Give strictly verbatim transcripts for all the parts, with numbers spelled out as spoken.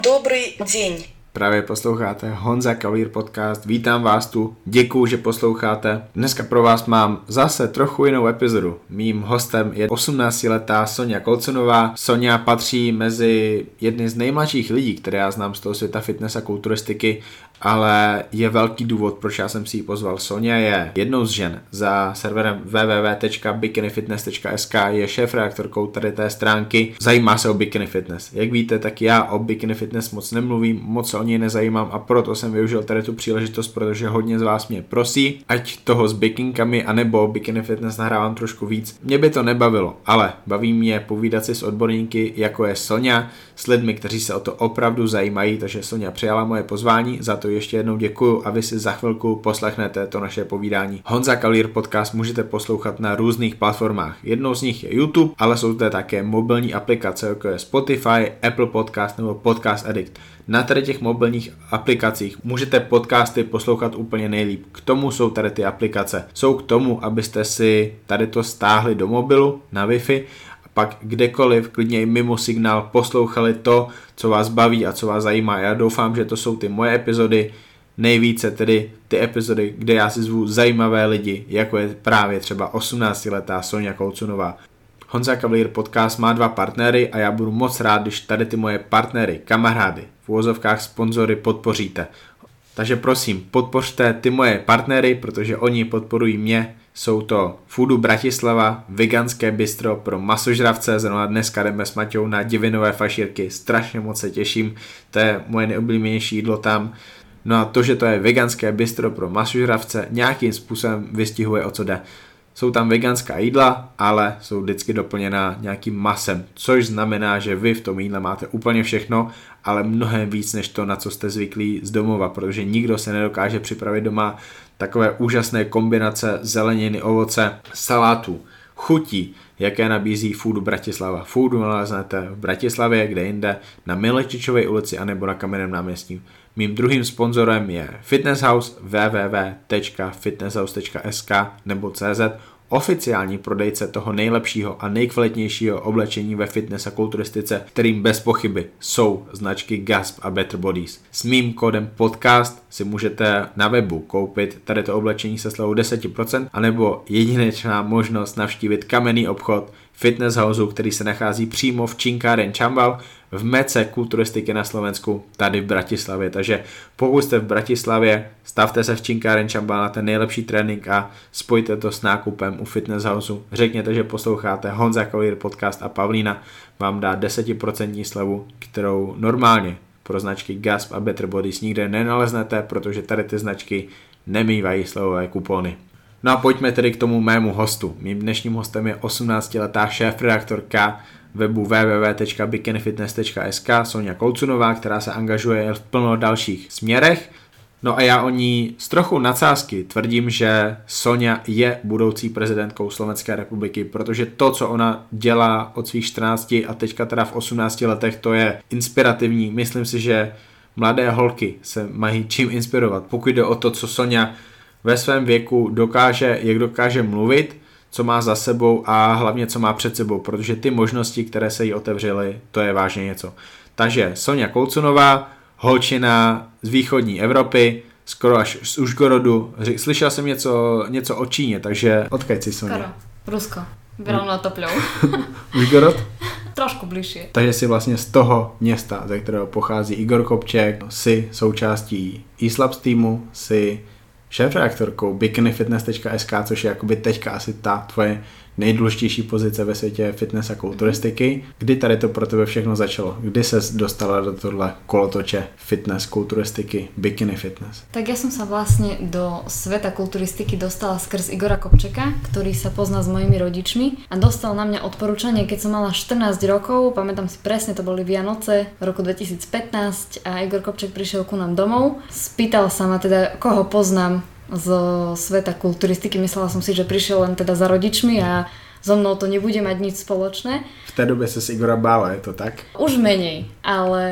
Dobrý deň. Právě posloucháte Honza Kavalír podcast, vítám vás tu, děkuju, že posloucháte. Dneska pro vás mám zase trochu jinou epizodu. Mým hostem je osmnáctiletá Soňa Kolconová. Soňa patří mezi jedny z nejmladších lidí, které já znám z toho světa fitness a kulturistiky, ale je velký důvod, proč já jsem si ji pozval. Soňa je jednou z žen za serverem w w w tečka bikini fitness tečka s k, je šéfredaktorkou tady té stránky, zajímá se o bikini fitness. Jak víte, tak já o bikini fitness moc nemluvím, moc se o něj nezajímám a proto jsem využil tady tu příležitost, protože hodně z vás mě prosí, ať toho s bikinkami anebo bikini fitness nahrávám trošku víc. Mě by to nebavilo, ale baví mě povídat si s odborníky, jako je Soňa, s lidmi, kteří se o to opravdu zajímají, takže Soňa přijala moje pozvání, za to ještě jednou děkuju a vy si za chvilku poslechnete to naše povídání. Honza Kavalír podcast můžete poslouchat na různých platformách. Jednou z nich je YouTube, ale jsou zde také mobilní aplikace, jako je Spotify, Apple Podcast nebo Podcast Addict. Na tady těch mobilních aplikacích můžete podcasty poslouchat úplně nejlíp. K tomu jsou tady ty aplikace. Jsou k tomu, abyste si tady to stáhli do mobilu na Wi-Fi a pak kdekoliv, klidně i mimo signál, poslouchali to, co vás baví a co vás zajímá. Já doufám, že to jsou ty moje epizody, nejvíce tedy ty epizody, kde já si zvu zajímavé lidi, jako je právě třeba osmnáctiletá Soňa Kolconová. Honza Kavalír podcast má dva partnery a já budu moc rád, když tady ty moje partnery, kamarády, v uvozovkách sponzory podpoříte. Takže prosím, podpořte ty moje partnery, protože oni podporují mě. Jsou to Foodu Bratislava, veganské bistro pro masožravce, zrovna dneska jdeme s Maťou na divinové fašírky, strašně moc se těším, to je moje nejoblíbenější jídlo tam. No a to, že to je veganské bistro pro masožravce, nějakým způsobem vystihuje, o co jde. Jsou tam veganská jídla, ale jsou vždycky doplněná nějakým masem, což znamená, že vy v tom jídle máte úplně všechno, ale mnohem víc než to, na co jste zvyklí z domova, protože nikdo se nedokáže připravit doma takové úžasné kombinace zeleniny, ovoce, salátů, chutí, jaké nabízí Foodu Bratislava. Foodu naleznete v Bratislavě, kde jinde, na Milečičové ulici anebo na Kamenném náměstí. Mým druhým sponzorem je Fitness House w w w tečka fitness house tečka s k nebo cz, oficiální prodejce toho nejlepšího a nejkvalitnějšího oblečení ve fitness a kulturistice, kterým bez pochyby jsou značky Gasp a Better Bodies. S mým kódem podcast si můžete na webu koupit tady to oblečení se slevou deset procent, anebo jedinečná možnost navštívit kamenný obchod Fitness Houseu, který se nachází přímo v Činkáren Čambal, v mece kulturistiky na Slovensku, tady v Bratislavě. Takže pokud jste v Bratislavě, stavte se v Činkáren Čambal na ten nejlepší trénink a spojte to s nákupem u Fitness Houseu. Řekněte, že posloucháte Honza Kavalír podcast a Pavlína vám dá deset procent slevu, kterou normálně pro značky Gasp a Better Bodies nikde nenaleznete, protože tady ty značky nemývají slevové kupony. No a pojďme tedy k tomu mému hostu. Mým dnešním hostem je osmnáctiletá šéfredaktorka webu w w w tečka bikini fitness tečka s k Soňa Kolconová, která se angažuje v plno dalších směrech. No a já o ní s trochu nadsázky tvrdím, že Soňa je budoucí prezidentkou Slovenské republiky, protože to, co ona dělá od svých čtrnácti a teďka teda v osmnácti letech, to je inspirativní. Myslím si, že mladé holky se mají čím inspirovat, pokud jde o to, co Soňa ve svém věku dokáže, jak dokáže mluvit, co má za sebou a hlavně co má před sebou, protože ty možnosti, které se jí otevřely, to je vážně něco. Takže Soňa Kolconová, holčina z východní Evropy, skoro až z Užgorodu. Slyšel jsem něco, něco o Číně, takže odkud si, Soňa? Skoro. Rusko. Rovno topľou. Užgorod? Trošku bližšie. Takže si vlastně z toho města, ze kterého pochází Igor Kopček, si součástí eSlabs týmu, si šéfredaktorkou bikini fitness tečka s k, což je jakoby teďka asi ta tvoje nejdůležitější pozice ve světě fitness a kulturistiky. Kdy tady to pro tebe všechno začalo? Kdy ses dostala do tohle kolotoče fitness, kulturistiky, bikini fitness? Tak ja som sa vlastne do sveta kulturistiky dostala skrz Igora Kopčeka, ktorý sa pozná s mojimi rodičmi a dostal na mňa odporúčanie, keď som mala štrnásť rokov, pamätám si presne, to boli Vianoce v roku dvetisícpätnásť a Igor Kopček prišiel ku nám domov. Spýtal sa ma teda, koho poznám zo sveta kulturistiky, myslela som si, že prišiel len teda za rodičmi a so mnou to nebude mať nič spoločné. V té době se s Igora bála, je to tak? Už menej, ale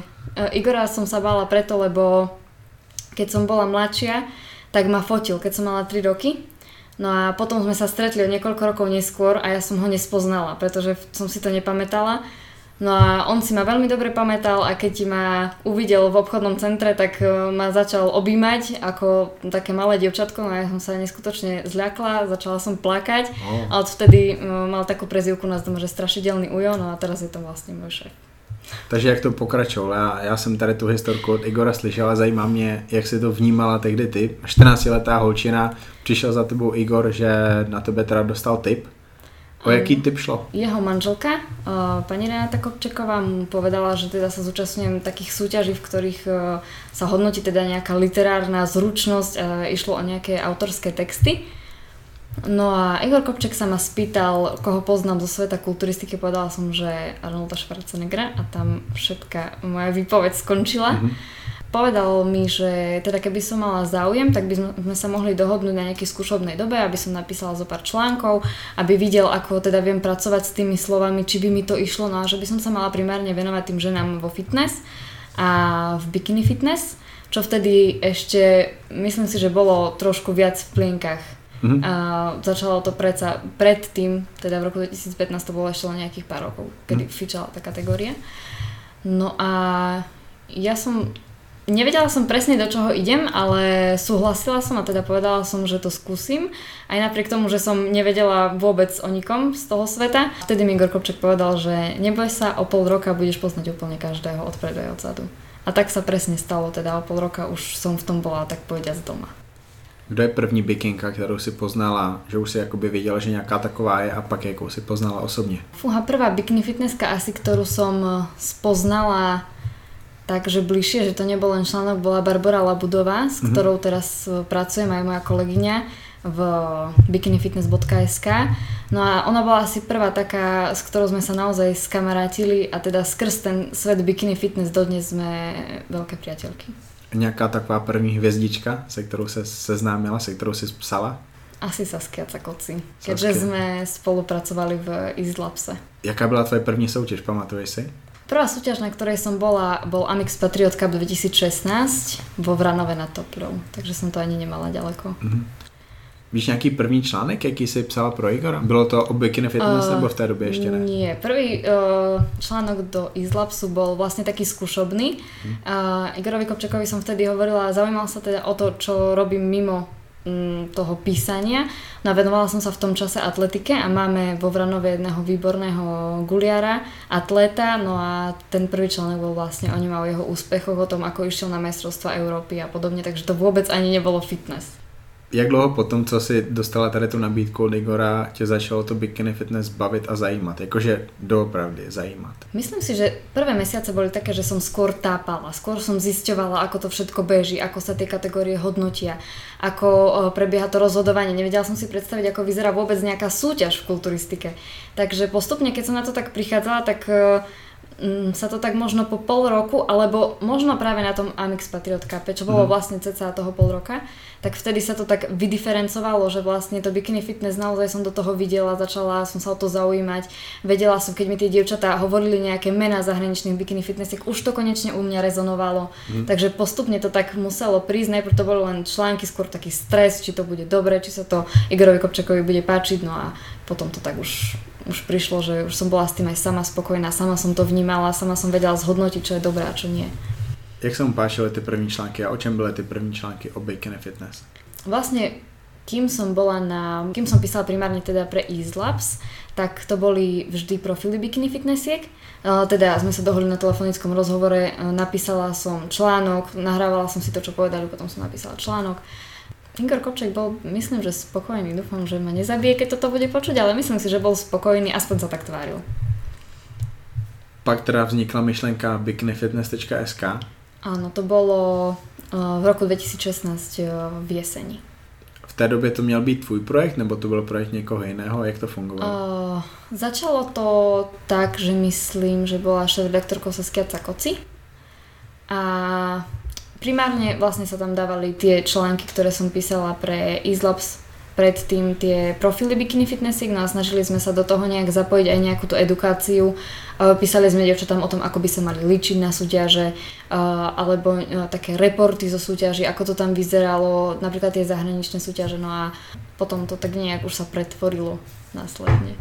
Igora som sa bála preto, lebo keď som bola mladšia, tak ma fotil, keď som mala tri roky. No a potom sme sa stretli o niekoľko rokov neskôr a ja som ho nespoznala, pretože som si to nepamätala. No a on si ma veľmi dobre pamätal a keď ma uvidel v obchodnom centre, tak ma začal objímať ako také malé dievčatko, no ja som sa neskutočne zľakla, začala som plakať oh. a odvtedy mal takú prezývku nás doma, že strašidelný Ujo, no a teraz je to vlastne môj šéf. Takže jak to pokračovalo? Já, já jsem tady tu historku od Igora slyšela, zajímá mě, jak si to vnímala tehdy ty. čtrnáctiletá holčina, přišel za tebou Igor, že na tebe teda dostal tip. O jaký tip šlo? Jeho manželka, pani Renáta Kopčeková, mu povedala, že teda sa zúčastňujem takých súťaží, v ktorých sa hodnotí teda nejaká literárna zručnosť a išlo o nejaké autorské texty. No a Igor Kopček sa ma spýtal, koho poznám zo sveta kulturistiky, povedala som, že Arnolda Schwarzeneggera a tam všetká moja výpoveď skončila. Mm-hmm. Povedal mi, že teda keby som mala záujem, tak by sme sa mohli dohodnúť na nejakej skúšobnej dobe, aby som napísala zo pár článkov, aby videl, ako teda viem pracovať s tými slovami, či by mi to išlo, no a že by som sa mala primárne venovať tým ženám vo fitness a v bikini fitness, čo vtedy ešte, myslím si, že bolo trošku viac v plienkach. Mm-hmm. A začalo to predsa predtým, teda v roku dvetisícpätnásť to bolo ešte len nejakých pár rokov, kedy mm-hmm. fičala tá kategória. No a ja som, nevedela som presne do čoho idem, ale súhlasila som a teda povedala som, že to skúsim. Aj napriek tomu, že som nevedela vôbec o nikom z toho sveta. Vtedy mi Igor Kopček povedal, že neboj sa, o pol roka budeš poznať úplne každého odpredu aj odzadu. A tak sa presne stalo, teda o pol roka už som v tom bola, tak povediac, doma. Kdo je první bikinka, kterou si poznala, že už si jakoby věděla, že nějaká taková je a pak jakou si poznala osobně? Fúha, prvá bikini fitnesska asi, ktorú som spoznala takže bližšie, že to nebol len článok, bola Barbora Labudová, s ktorou teraz pracujem, aj moja kolegyňa v bikinifitness bodka es ká. No a ona bola asi prvá taká, s ktorou sme sa naozaj skamarátili a teda skrz ten svet bikini fitness dodnes sme veľké priateľky. Nějaká taková první hvězdička, se kterou se seznámila, se kterou si psala? Asi Saskia Cakoci, keďže sme spolupracovali v Easylabse. Jaká byla tvoje první soutěž, pamatuješ si? Prvá súťaž, na ktorej som bola, bol Amix Patriot Cup dvetisícšestnásť vo Vranove nad Toprou, takže som to ani nemala ďaleko. Mm-hmm. Víš nějaký první článek, jaký jsi psala pro Igora? Bylo to o bikini fitness uh, nebo v té době ještě ne? Nie, prvý uh, článok do Easylabsu bol vlastne taký skúšobný. Hmm. Uh, Igorovi Kopčekovi som vtedy hovorila, zaujímal sa teda o to, čo robím mimo um, toho písania. No a venovala som sa v tom čase atletike a máme vo Vranove jedného výborného guliara, atléta, no a ten prvý článok bol vlastne o ňom a o jeho úspechoch, o tom, ako išiel na majstrovstvá Európy a podobne, takže to vôbec ani nebolo fitness. Jak dlouho potom, co si dostala tady tu nabídku od Igora, tě začalo to bikini fitness bavit a zajímat? Jakože doopravdy zajímat. Myslím si, že prvé mesiace boli také, že som skôr tápala. Skôr som zisťovala, ako to všetko beží, ako sa tie kategórie hodnotia, ako prebieha to rozhodovanie. Nevedela som si predstaviť, ako vyzerá vôbec nejaká súťaž v kulturistike. Takže postupne, keď som na to tak prichádzala, tak sa to tak možno po pol roku, alebo možno práve na tom Amix Patriot Cup, čo bolo vlastne cca toho pol roka, tak vtedy sa to tak vydiferencovalo, že vlastne to bikini fitness naozaj som do toho videla, začala som sa o to zaujímať, vedela som, keď mi tie dievčatá hovorili nejaké mená zahraničných bikini fitnessiek, už to konečne u mňa rezonovalo, mm. takže postupne to tak muselo prísť, najprv to boli len články, skôr taký stres, či to bude dobre, či sa to Igorovi Kopčekovi bude páčiť, no a potom to tak už už prišlo, že už som bola s tým aj sama spokojná, sama som to vnímala, sama som vedela zhodnotiť, čo je dobré a čo nie. Jak sa mu páčili ty první články a o čem byly ty první články o bikini fitness? Vlastne, kým som bola na, kým som písala primárne teda pre Easylabs, tak to boli vždy profily bikini fitnessiek. Teda sme sa dohodli na telefonickom rozhovore, napísala som článok, nahrávala som si to, čo povedali, potom som napísala článok. Igor Kopček bol, myslím, že spokojný. Dúfam, že ma nezabije, keď toto bude počuť, ale myslím si, že bol spokojný, aspoň sa tak tváril. Pak teda vznikla myšlenka bikinifitness bodka es ká. Áno, to bolo v roku dvetisícšestnásť v jeseni. V té době to měl být tvůj projekt, nebo to byl projekt někoho jiného? Jak to fungovalo? Uh, začalo to tak, že myslím, že bola šéf-redaktorkou Saskia Cakoci. A primárne vlastne sa tam dávali tie články, ktoré som písala pre Easylabs, predtým tie profily bikini fitnessiek, no a snažili sme sa do toho nejak zapojiť aj nejakú tú edukáciu. Písali sme dievčatám o tom, ako by sa mali líčiť na súťaže, alebo také reporty zo súťaží, ako to tam vyzeralo, napríklad tie zahraničné súťaže, no a potom to tak nejak už sa pretvorilo následne.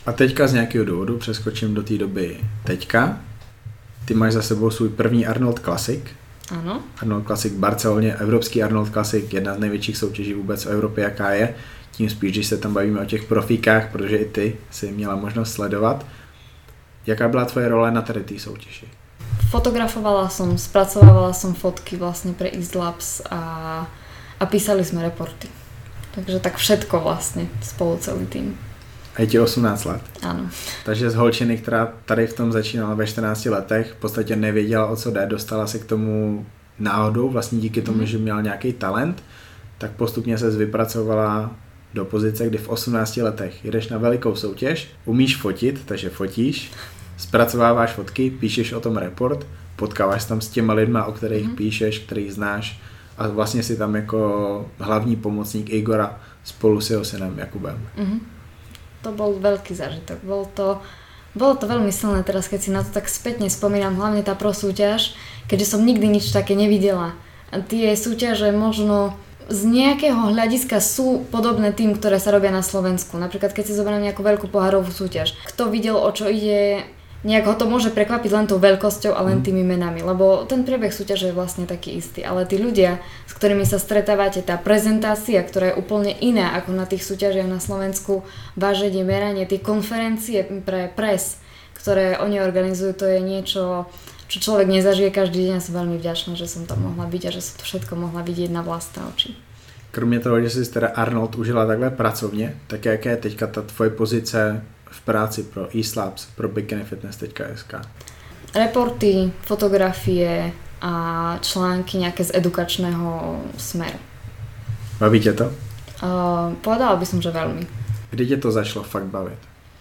A teďka z nějakého důvodu přeskočím do té doby teďka. Ty máš za sebou svůj první Arnold Classic. Ano. Arnold Classic v Barceloně, evropský Arnold Classic, jedna z největších soutěží vůbec v Evropě, jaká je. Tím spíš, když se tam bavíme o těch profíkách, protože i ty si měla možnost sledovat. Jaká byla tvoje role na tady té soutěži? Fotografovala som, spracovávala som fotky vlastne pre East Labs a, a písali sme reporty. Takže tak všetko vlastne spolu celý tým. A je ti osmnáct let. Áno. Takže z holčiny, která tady v tom začínala ve čtrnácti letech, v podstatě nevěděla, o co jde, dostala se k tomu náhodou, vlastně díky tomu, mm. že měla nějaký talent, tak postupně se vypracovala do pozice, kdy v osmnácti letech jdeš na velikou soutěž, umíš fotit, takže fotíš, zpracováváš fotky, píšeš o tom report, potkáváš tam s těma lidma, o kterých mm. píšeš, kterých znáš a vlastně si tam jako hlavní pomocník Igora spolu s jeho synem Jakubem. Mm. To bol veľký zážitok. Bol to, bolo to veľmi silné teraz, keď si na to tak spätne spomínam, hlavne tá pro súťaž, keďže som nikdy nič také nevidela. A tie súťaže možno z nejakého hľadiska sú podobné tým, ktoré sa robia na Slovensku. Napríklad, keď si zoberiem nejakú veľkú pohárovú súťaž. Kto videl, o čo ide, nejak ho to môže prekvapiť len tou veľkosťou a len tými menami, lebo ten priebeh súťaže je vlastne taký istý. Ale tí ľudia, s ktorými sa stretávate, tá prezentácia, ktorá je úplne iná ako na tých súťažiach na Slovensku, váženie, meranie, tie konferencie pre pres, ktoré oni organizujú, to je niečo, čo človek nezažije každý deň. Ja som veľmi vďačná, že som tam mohla byť a že som to všetko mohla vidieť na vlastné oči. Kromě toho, že jsi teda Arnold užila takhle pracovně, tak jaká je teďka ta tvoje pozice v práci pro East Labs, pro bikini fitness tečka es ká? Reporty, fotografie a články nejaké z edukačného smeru. Baví tě to? Uh, povedala by som, že veľmi. Kdy tě to začalo fakt bavit?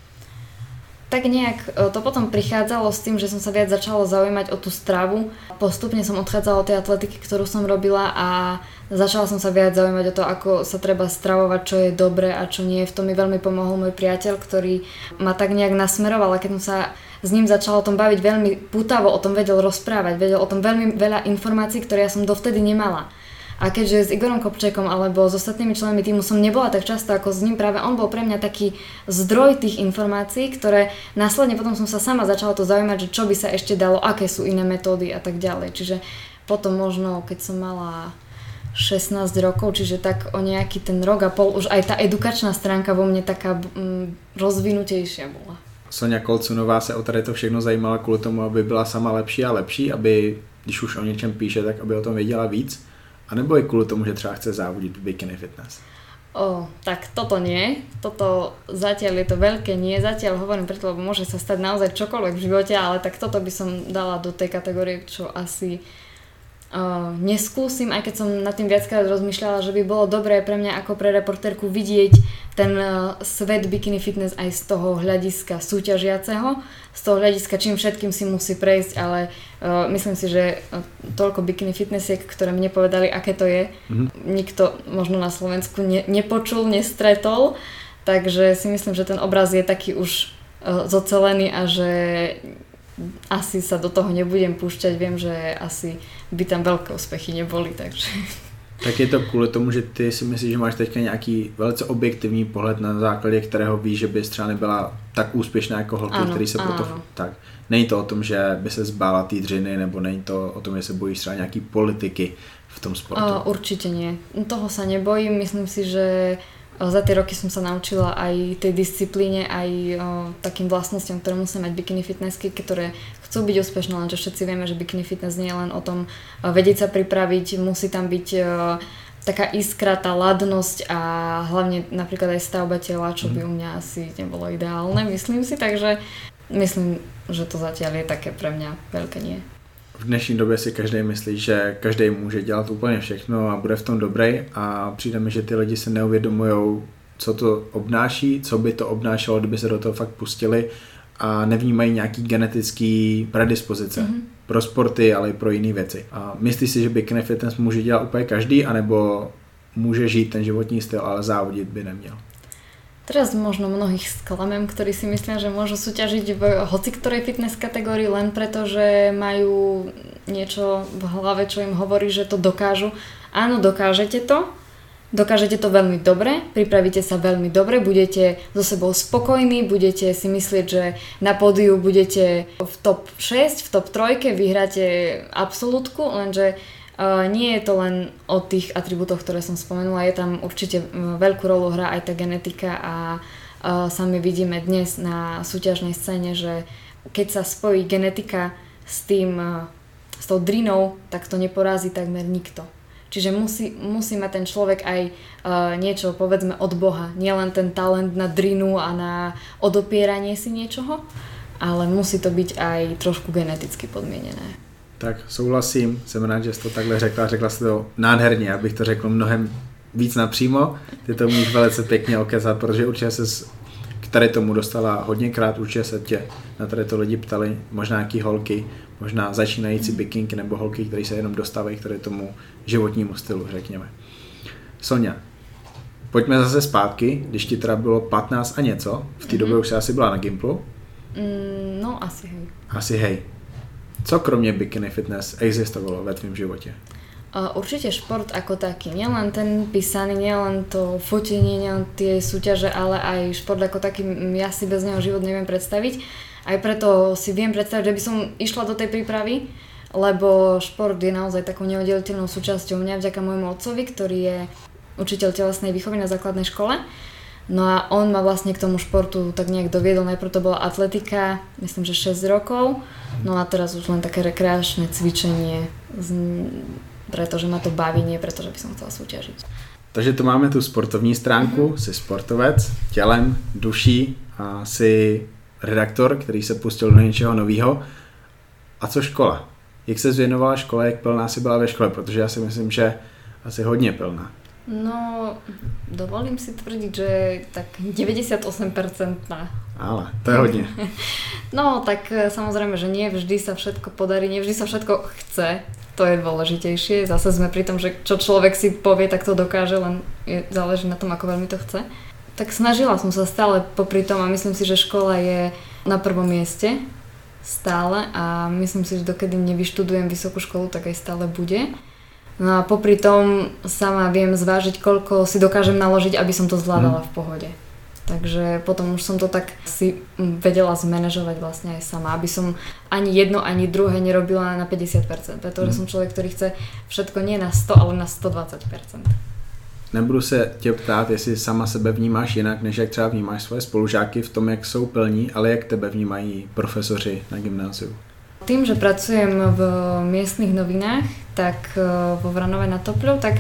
Tak nejak to potom prichádzalo s tým, že som sa viac začala zaujímať o tú stravu. Postupne som odchádzala od tej atletiky, ktorú som robila a začala som sa viac zaujímať o to, ako sa treba stravovať, čo je dobré a čo nie. V tom mi veľmi pomohol môj priateľ, ktorý ma tak nejak nasmeroval a keď som sa s ním začala o tom baviť veľmi pútavo, o tom vedel rozprávať, vedel o tom veľmi veľa informácií, ktoré ja som dovtedy nemala. A keďže s Igorom Kopčekom alebo s ostatnými členmi týmu som nebola tak často ako s ním, práve on bol pre mňa taký zdroj tých informácií, ktoré následne potom som sa sama začala to zaujímať, že čo by sa ešte dalo, aké sú iné metódy a tak ďalej. Čiže potom možno, keď som mala šestnásť rokov, čiže tak o nejaký ten rok a pol, už aj tá edukačná stránka vo mne taká mm, rozvinutejšia bola. Soňa Kolcunová se o tady to všechno zajímala kvůli tomu, aby byla sama lepší a lepší, aby, když už o něčem píše, tak aby o tom věděla víc. A nebo je kvôli tomu, že třeba chce závodit v bikini fitness? O, tak toto nie. Toto zatiaľ je to veľké nie. Zatiaľ hovorím preto, lebo môže sa stať naozaj čokoľvek v živote, ale tak toto by som dala do tej kategórie, čo asi uh, neskúsim, aj keď som nad tým viackrát rozmýšľala, že by bolo dobré pre mňa ako pre reportérku vidieť ten uh, svet bikini fitness aj z toho hľadiska súťažiaceho, z toho hľadiska, čím všetkým si musí prejsť, ale uh, myslím si, že toľko bikini fitnessiek, ktoré mne povedali, aké to je, mm-hmm. nikto možno na Slovensku ne, nepočul, nestretol, takže si myslím, že ten obraz je taký už uh, zocelený a že asi sa do toho nebudem púšťať, viem, že asi by tam veľké úspechy neboli, takže... Tak je to kvůli tomu, že ty si myslíš, že máš teďka nějaký velice objektivní pohled, na základě kterého víš, že bys třeba nebyla tak úspěšná jako holky, ano, který se ano. proto... Tak. Není to o tom, že by se zbála té dřiny, nebo není to o tom, že se bojíš třeba nějaký politiky v tom sportu? O, určite nie. Toho sa nebojím. Myslím si, že za tie roky som sa naučila aj tej disciplíne, aj o, takým vlastnostiam, ktoré musia mať bikini fitnessky, ktoré chcú byť úspešné, lenže všetci vieme, že bikini fitness nie je len o tom o, vedieť sa pripraviť, musí tam byť o, taká iskra, tá ladnosť a hlavne napríklad aj stavba tela, čo by u mňa asi nebolo ideálne, myslím si, takže myslím, že to zatiaľ je také pre mňa veľké nie. V dnešní době si každý myslí, že každý může dělat úplně všechno a bude v tom dobrý a přijde mi, že ty lidi se neuvědomujou, co to obnáší, co by to obnášelo, kdyby se do toho fakt pustili a nevnímají nějaký genetický predispozice mm-hmm. pro sporty, ale i pro jiné věci. A myslíš si, že bikini fitness může dělat úplně každý, anebo může žít ten životní styl, ale závodit by neměl? Teraz možno mnohých sklamem, ktorí si myslia, že môžu súťažiť v hoci ktorej fitness kategórii len preto, že majú niečo v hlave, čo im hovorí, že to dokážu. Áno, dokážete to, Dokážete to veľmi dobre, pripravíte sa veľmi dobre, budete so sebou spokojní, budete si myslieť, že na pódiu budete v top šesť, v top tri, vyhráte absolútku, lenže uh, nie je to len o tých atribútoch, ktoré som spomenula, je tam určite veľkú rolu hrá aj tá genetika a uh, sami vidíme dnes na súťažnej scéne, že keď sa spojí genetika s tým, uh, s tou drinou, tak to neporazí takmer nikto. Čiže musí, musí mať ten človek aj uh, niečo, povedzme, od Boha. Nie len ten talent na drinu a na odopieranie si niečoho, ale musí to byť aj trošku geneticky podmienené. Tak souhlasím, jsem rád, že jsi to takhle řekla, řekla jsi to nádherně, abych to řekl mnohem víc napřímo. Ty to umíš velice pěkně okecat, protože určitě se k tady tomu dostala hodněkrát, určitě se tě na tady to lidi ptali, možná nějaký holky, možná začínající bikinky nebo holky, které se jenom dostávají k tady tomu životnímu stylu, řekněme. Sonja, pojďme zase zpátky, když ti teda bylo patnáct a něco, v té mm-hmm. době už jsi asi byla na Gimplu? Mm, no asi hej. Asi hej. Co kromě bikini fitness existovalo ve tvým životě? Určite šport ako taký, nielen ten písaný, nielen to fotenie, nielen tie súťaže, ale aj šport ako taký, ja si bez neho život neviem predstaviť. Aj preto si viem predstaviť, že by som išla do tej prípravy, lebo šport je naozaj takou neoddeliteľnou súčasťou mňa vďaka môjmu otcovi, ktorý je učiteľ telesnej výchovy na základnej škole. No a on ma vlastne k tomu športu tak nejak doviedol, najprv to bola atletika, myslím, že šesť rokov, no a teraz už len také rekreačné cvičenie, pretože ma to baví, nie pretože by som chcela súťažiť. Takže tu máme tu sportovní stránku, mm-hmm. jsi sportovec, tělem, duší a jsi redaktor, který se pustil do něčeho nového. A co škola? Jak se zvěnovala škole, jak plná jsi byla ve škole? Protože já si myslím, že asi hodně plná. No, dovolím si tvrdiť, že tak deväťdesiatosem percent. Ale to je hodně. No, tak samozrejme, že nie vždy sa všetko podarí, nie vždy sa všetko chce. To je dôležitejšie. Zase sme pri tom, že čo človek si povie, tak to dokáže, len je, záleží na tom, ako veľmi to chce. Tak snažila som sa stále popri tom a myslím si, že škola je na prvom mieste stále a myslím si, že dokedy nevyštudujem vysokú školu, tak aj stále bude. No a popri tom sama viem zvážiť, koľko si dokážem naložiť, aby som to zvládala v pohode. Takže potom už som to tak si vedela zmanéžovať vlastne aj sama, aby som ani jedno, ani druhé nerobila na päťdesiat percent, pretože mm. som človek, ktorý chce všetko nie na sto, ale na sto dvacet percent. Nebudu se tě ptát, jestli sama sebe vnímáš jinak, než jak třeba vnímáš svoje spolužáky v tom, jak jsou plní, ale jak tebe vnímají profesoři na gymnáziu. Tým, že pracujem v miestnych novinách, tak vo Vranove nad Topľou, tak,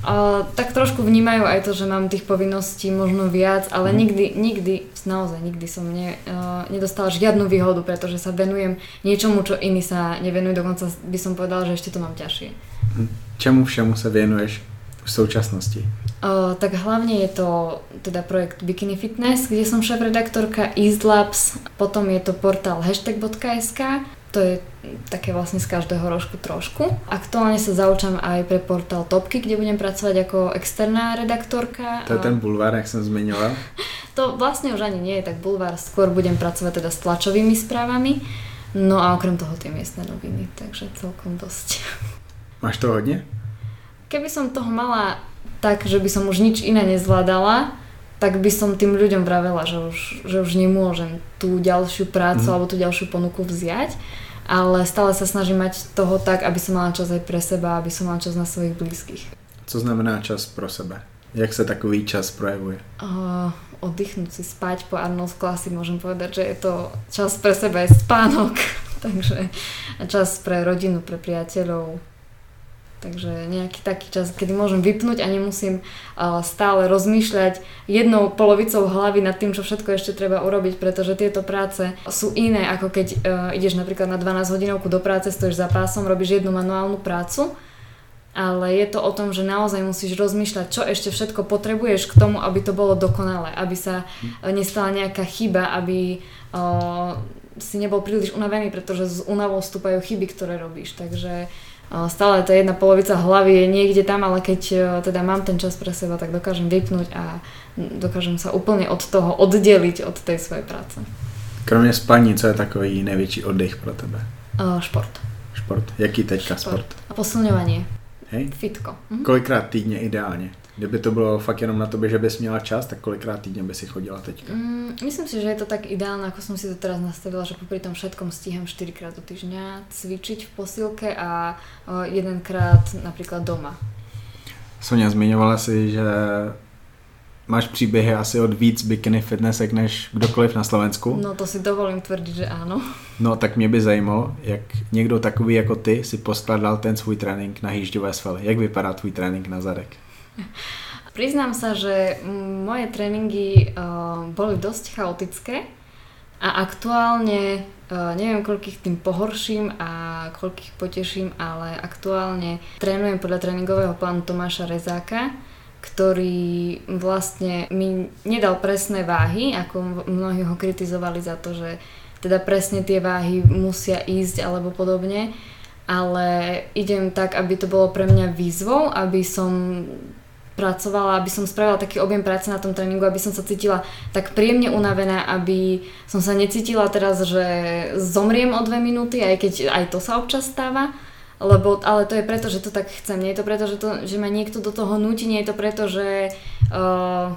tak trošku vnímajú aj to, že mám tých povinností možno viac, ale mm. nikdy, nikdy, naozaj nikdy som ne, nedostala žiadnu výhodu, pretože sa venujem niečomu, čo iní sa nevenujú, dokonca by som povedala, že ešte to mám ťažšie. Čemu všemu sa venuješ v súčasnosti? Uh, tak hlavne je to teda projekt Bikini Fitness, kde som šéf-redaktorka East Labs, potom je to portál hashtag bodka es ká, to je také vlastne z každého rožku trošku. Aktuálne sa zaučam aj pre portál Topky, kde budem pracovať ako externá redaktorka. To je ten bulvár, jak som zmiňoval. To vlastne už ani nie je tak bulvár, skôr budem pracovať teda s tlačovými správami, no a okrem toho tie miestne noviny, takže celkom dosť. Máš to hodne? Keby som toho mala tak, že by som už nič iné nezvládala, tak by som tým ľuďom vravela, že už, že už nemôžem tú ďalšiu prácu mm. alebo tú ďalšiu ponuku vziať, ale stále sa snažím mať toho tak, aby som mala čas aj pre seba, aby som mala čas na svojich blízkych. Co znamená čas pro sebe? Jak sa takový čas projevuje? Uh, oddychnúť si, spať po Arnold Classic, môžem povedať, že je to čas pre seba, je spánok, takže čas pre rodinu, pre priateľov. Takže nejaký taký čas, kedy môžem vypnúť a nemusím uh, stále rozmýšľať jednou polovicou hlavy nad tým, čo všetko ešte treba urobiť, pretože tieto práce sú iné, ako keď uh, ideš napríklad na dvanásť hodinovku do práce, stojíš za pásom, robíš jednu manuálnu prácu, ale je to o tom, že naozaj musíš rozmýšľať, čo ešte všetko potrebuješ k tomu, aby to bolo dokonalé, aby sa uh, nestala nejaká chyba, aby uh, si nebol príliš unavený, pretože s únavou vstúpajú chyby, ktoré robíš, takže stále tá jedna polovica hlavy je niekde tam, ale keď teda mám ten čas pre seba, tak dokážem vypnúť a dokážem sa úplne od toho oddeliť od tej svojej práce. Kromě spaní, co je takový největší oddych pro tebe? Uh, šport. Šport. Jaký teďka sport? sport? A posilňovanie. Hej? Fitko. Mhm. Kolikrát týdně ideálně? Kdyby to bylo fakt jenom na tobě, že bys měla čas, tak kolikrát týdně by si chodila teďka? Mm, myslím si, že je to tak ideálne, ako som si to teraz nastavila, že popri tom všetkom stíham štyrikrát do týždňa cvičiť v posilke a o, jedenkrát napríklad doma. Sonia, zmiňovala si, že máš příběhy asi od víc bikini fitnessek než kdokoliv na Slovensku. No to si dovolím tvrdiť, že áno. No tak mě by zajímalo, jak někdo takový jako ty si poskladal ten svůj trénink na hýžďové svaly. Jak vypadá tvůj trénink na zadek? Priznám sa, že moje tréningy uh, boli dosť chaotické a aktuálne uh, neviem, koľkých tým pohorším a koľkých poteším, ale aktuálne trénujem podľa tréningového plánu Tomáša Rezáka, ktorý vlastne mi nedal presné váhy, ako mnohí ho kritizovali za to, že teda presne tie váhy musia ísť alebo podobne, ale idem tak, aby to bolo pre mňa výzvou, aby som pracovala, aby som spravila taký objem práce na tom tréningu, aby som sa cítila tak príjemne unavená, aby som sa necítila teraz, že zomriem o dve minúty, aj keď aj to sa občas stáva, lebo, ale to je preto, že to tak chcem, nie je to preto, že, to, že ma niekto do toho núti, nie je to preto, že uh,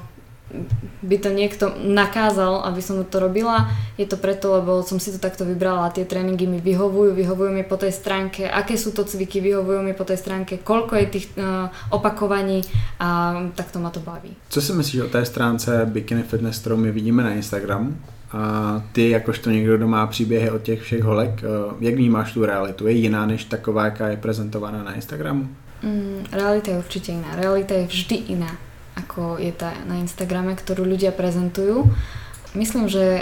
by to niekto nakázal, aby som to robila, je to preto, lebo som si to takto vybrala a tie tréningy mi vyhovujú, vyhovujú mi po tej stránke, aké sú to cviky, vyhovujú mi po tej stránke, koľko je tých uh, opakovaní a takto ma to baví. Co si myslíš o té stránce Bikini Fitness, kterou my vidíme na Instagramu? A ty, jakožto někdo, kdo má příběhy od těch všech holek, jak vnímáš tu realitu? Je jiná než taková, jaká je prezentovaná na Instagramu? Mm, realita je určite iná. Realita je vždy iná, ako je tá na Instagrame, ktorú ľudia prezentujú. Myslím, že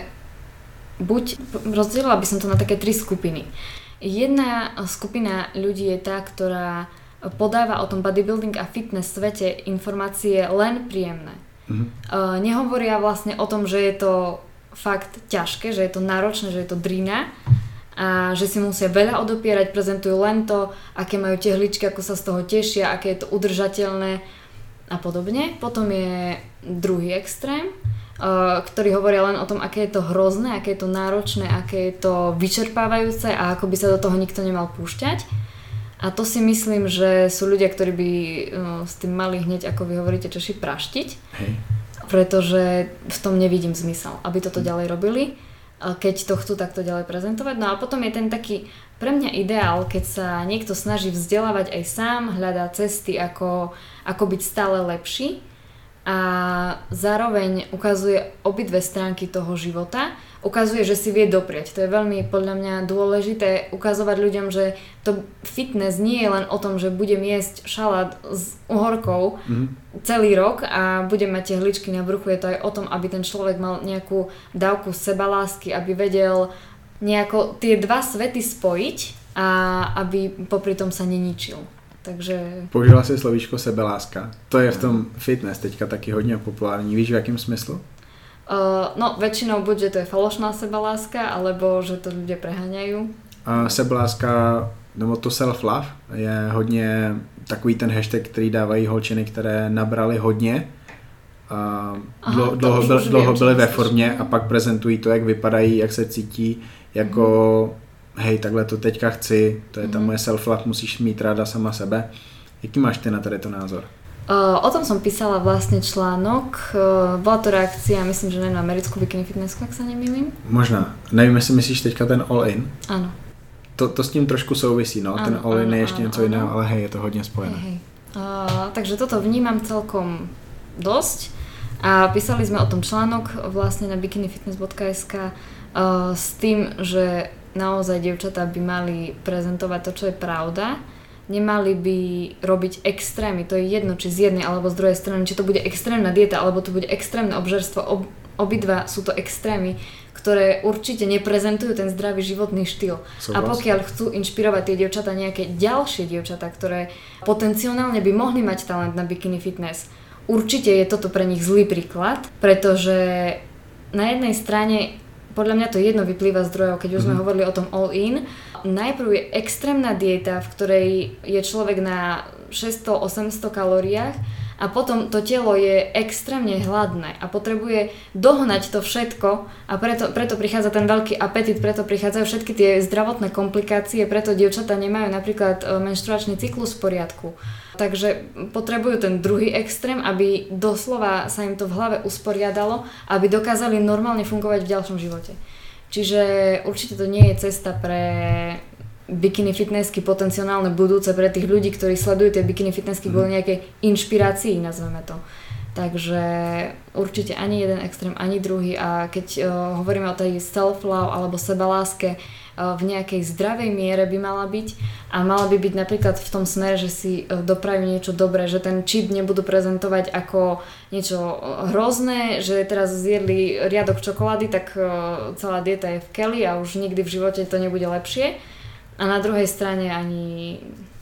buď, rozdielila by som to na také tri skupiny. Jedna skupina ľudí je tá, ktorá podáva o tom bodybuilding a fitness svete informácie len príjemné. Mhm. Uh, nehovoria vlastne o tom, že je to fakt ťažké, že je to náročné, že je to drina a že si musia veľa odopierať, prezentujú len to, aké majú tehličky, ako sa z toho tešia, aké je to udržateľné a podobne. Potom je druhý extrém, ktorý hovoria len o tom, aké je to hrozné, aké je to náročné, aké je to vyčerpávajúce a ako by sa do toho nikto nemal púšťať. A to si myslím, že sú ľudia, ktorí by s tým mali hneď, ako vy hovoríte, Češi, praštiť. Hej. Pretože v tom nevidím zmysel, aby toto ďalej robili, keď to chcú takto ďalej prezentovať. No a potom je ten taký pre mňa ideál, keď sa niekto snaží vzdelávať aj sám, hľadá cesty, ako, ako byť stále lepší a zároveň ukazuje obidve stránky toho života, ukazuje, že si vie dopriať. To je veľmi podľa mňa dôležité ukazovať ľuďom, že to fitness nie je len o tom, že budem jesť šalát s uhorkou mm-hmm. celý rok a budem mať tehličky na bruchu. Je to aj o tom, aby ten človek mal nejakú dávku sebalásky, aby vedel nejako tie dva svety spojiť a aby popri tom sa neničil. Takže... Použila si slovíčko sebeláska. To je v tom fitness teďka taky hodně populární. Víš, v jakém smyslu? Uh, no, väčšinou buď, že to je falošná sebaláska, alebo že to ľudia preháňajú. Uh, sebeláska, nebo to self-love, je hodně takový ten hashtag, který dávají holčiny, které nabrali hodně. Uh, Aha, dlouho, dlouho, byl, dlouho byly ve formě a pak prezentují to, jak vypadají, jak se cítí, jako mm. hej, takhle to teďka chci, to je ta mm. moje self-love, musíš mít ráda sama sebe. Jaký máš ty na tady to názor? Uh, o tom som písala vlastne článok, uh, bola to reakcia, myslím, že na americkú bikini fitnessku, ak sa nemýlim. Možná, nevím, jestli myslíš teďka ten all-in. Áno. To, to s tím trošku souvisí, no, ano, ten all-in je ještě ano, něco ano. jiného, ale hej, je to hodně spojené. Hej, hej. Uh, takže toto vnímam celkom dosť a písali sme o tom článok vlastne na bikinifitness bodka es ká uh, s tým, že naozaj dievčatá by mali prezentovať to, čo je pravda. Nemali by robiť extrémy, to je jedno, či z jednej alebo z druhej strany, či to bude extrémna dieta, alebo to bude extrémne obžerstvo, ob, obidva sú to extrémy, ktoré určite neprezentujú ten zdravý životný štýl. So, a pokiaľ chcú inšpirovať tie dievčatá, nejaké ďalšie dievčatá, ktoré potenciálne by mohli mať talent na bikini fitness, určite je toto pre nich zlý príklad, pretože na jednej strane podľa mňa to jedno vyplýva z zdrojov, keď už sme mm-hmm. hovorili o tom all-in. Najprv je extrémna dieta, v ktorej je človek na šesťsto až osemsto kalóriách a potom to telo je extrémne hladné a potrebuje dohnať to všetko a preto, preto prichádza ten veľký apetit, preto prichádzajú všetky tie zdravotné komplikácie, preto dievčatá nemajú napríklad menštruačný cyklus v poriadku. Takže potrebujú ten druhý extrém, aby doslova sa im to v hlave usporiadalo, aby dokázali normálne fungovať v ďalšom živote. Čiže určite to nie je cesta pre bikini fitnessky potenciálne budúce pre tých ľudí, ktorí sledujú tie bikini fitnessky kvôli nejakej inšpirácii, nazveme to. Takže určite ani jeden extrém, ani druhý a keď uh, hovoríme o tej self-love alebo sebaláske, uh, v nejakej zdravej miere by mala byť a mala by byť napríklad v tom smere, že si uh, doprajú niečo dobré, že ten cheat nebudú prezentovať ako niečo hrozné, že teraz zjedli riadok čokolády, tak uh, celá dieta je v keli a už nikdy v živote to nebude lepšie. A na druhej strane ani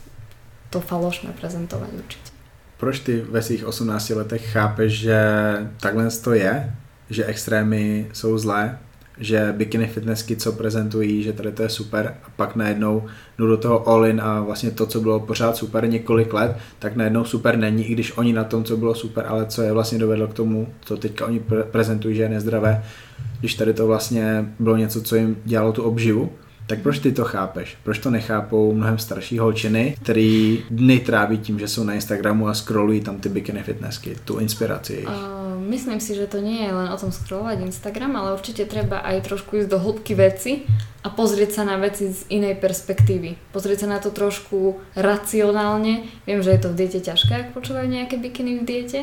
to falošné prezentovať určite. Proč ty ve svých osmnácti letech chápeš, že takhle to je? Že extrémy jsou zlé? Že bikini fitnessky, co prezentují, že tady to je super a pak najednou jdu do toho all in a vlastně to, co bylo pořád super několik let, tak najednou super není, i když oni na tom, co bylo super, ale co je vlastně dovedlo k tomu, co teďka oni pre- prezentují, že je nezdravé, když tady to vlastně bylo něco, co jim dělalo tu obživu. Tak proč ty to chápeš? Proč to nechápou mnohem starší holčiny, který dny tráví tím, že jsou na Instagramu a scrollují tam ty bikini fitnessky, tu inspiraci? Uh, myslím si, že to nie je len o tom scrollovať Instagram, ale určite treba aj trošku ísť do hĺbky veci a pozrieť sa na veci z inej perspektívy. Pozrieť sa na to trošku racionálne. Viem, že je to v diete ťažké, ak počúvajú nejaké bikiny v diete,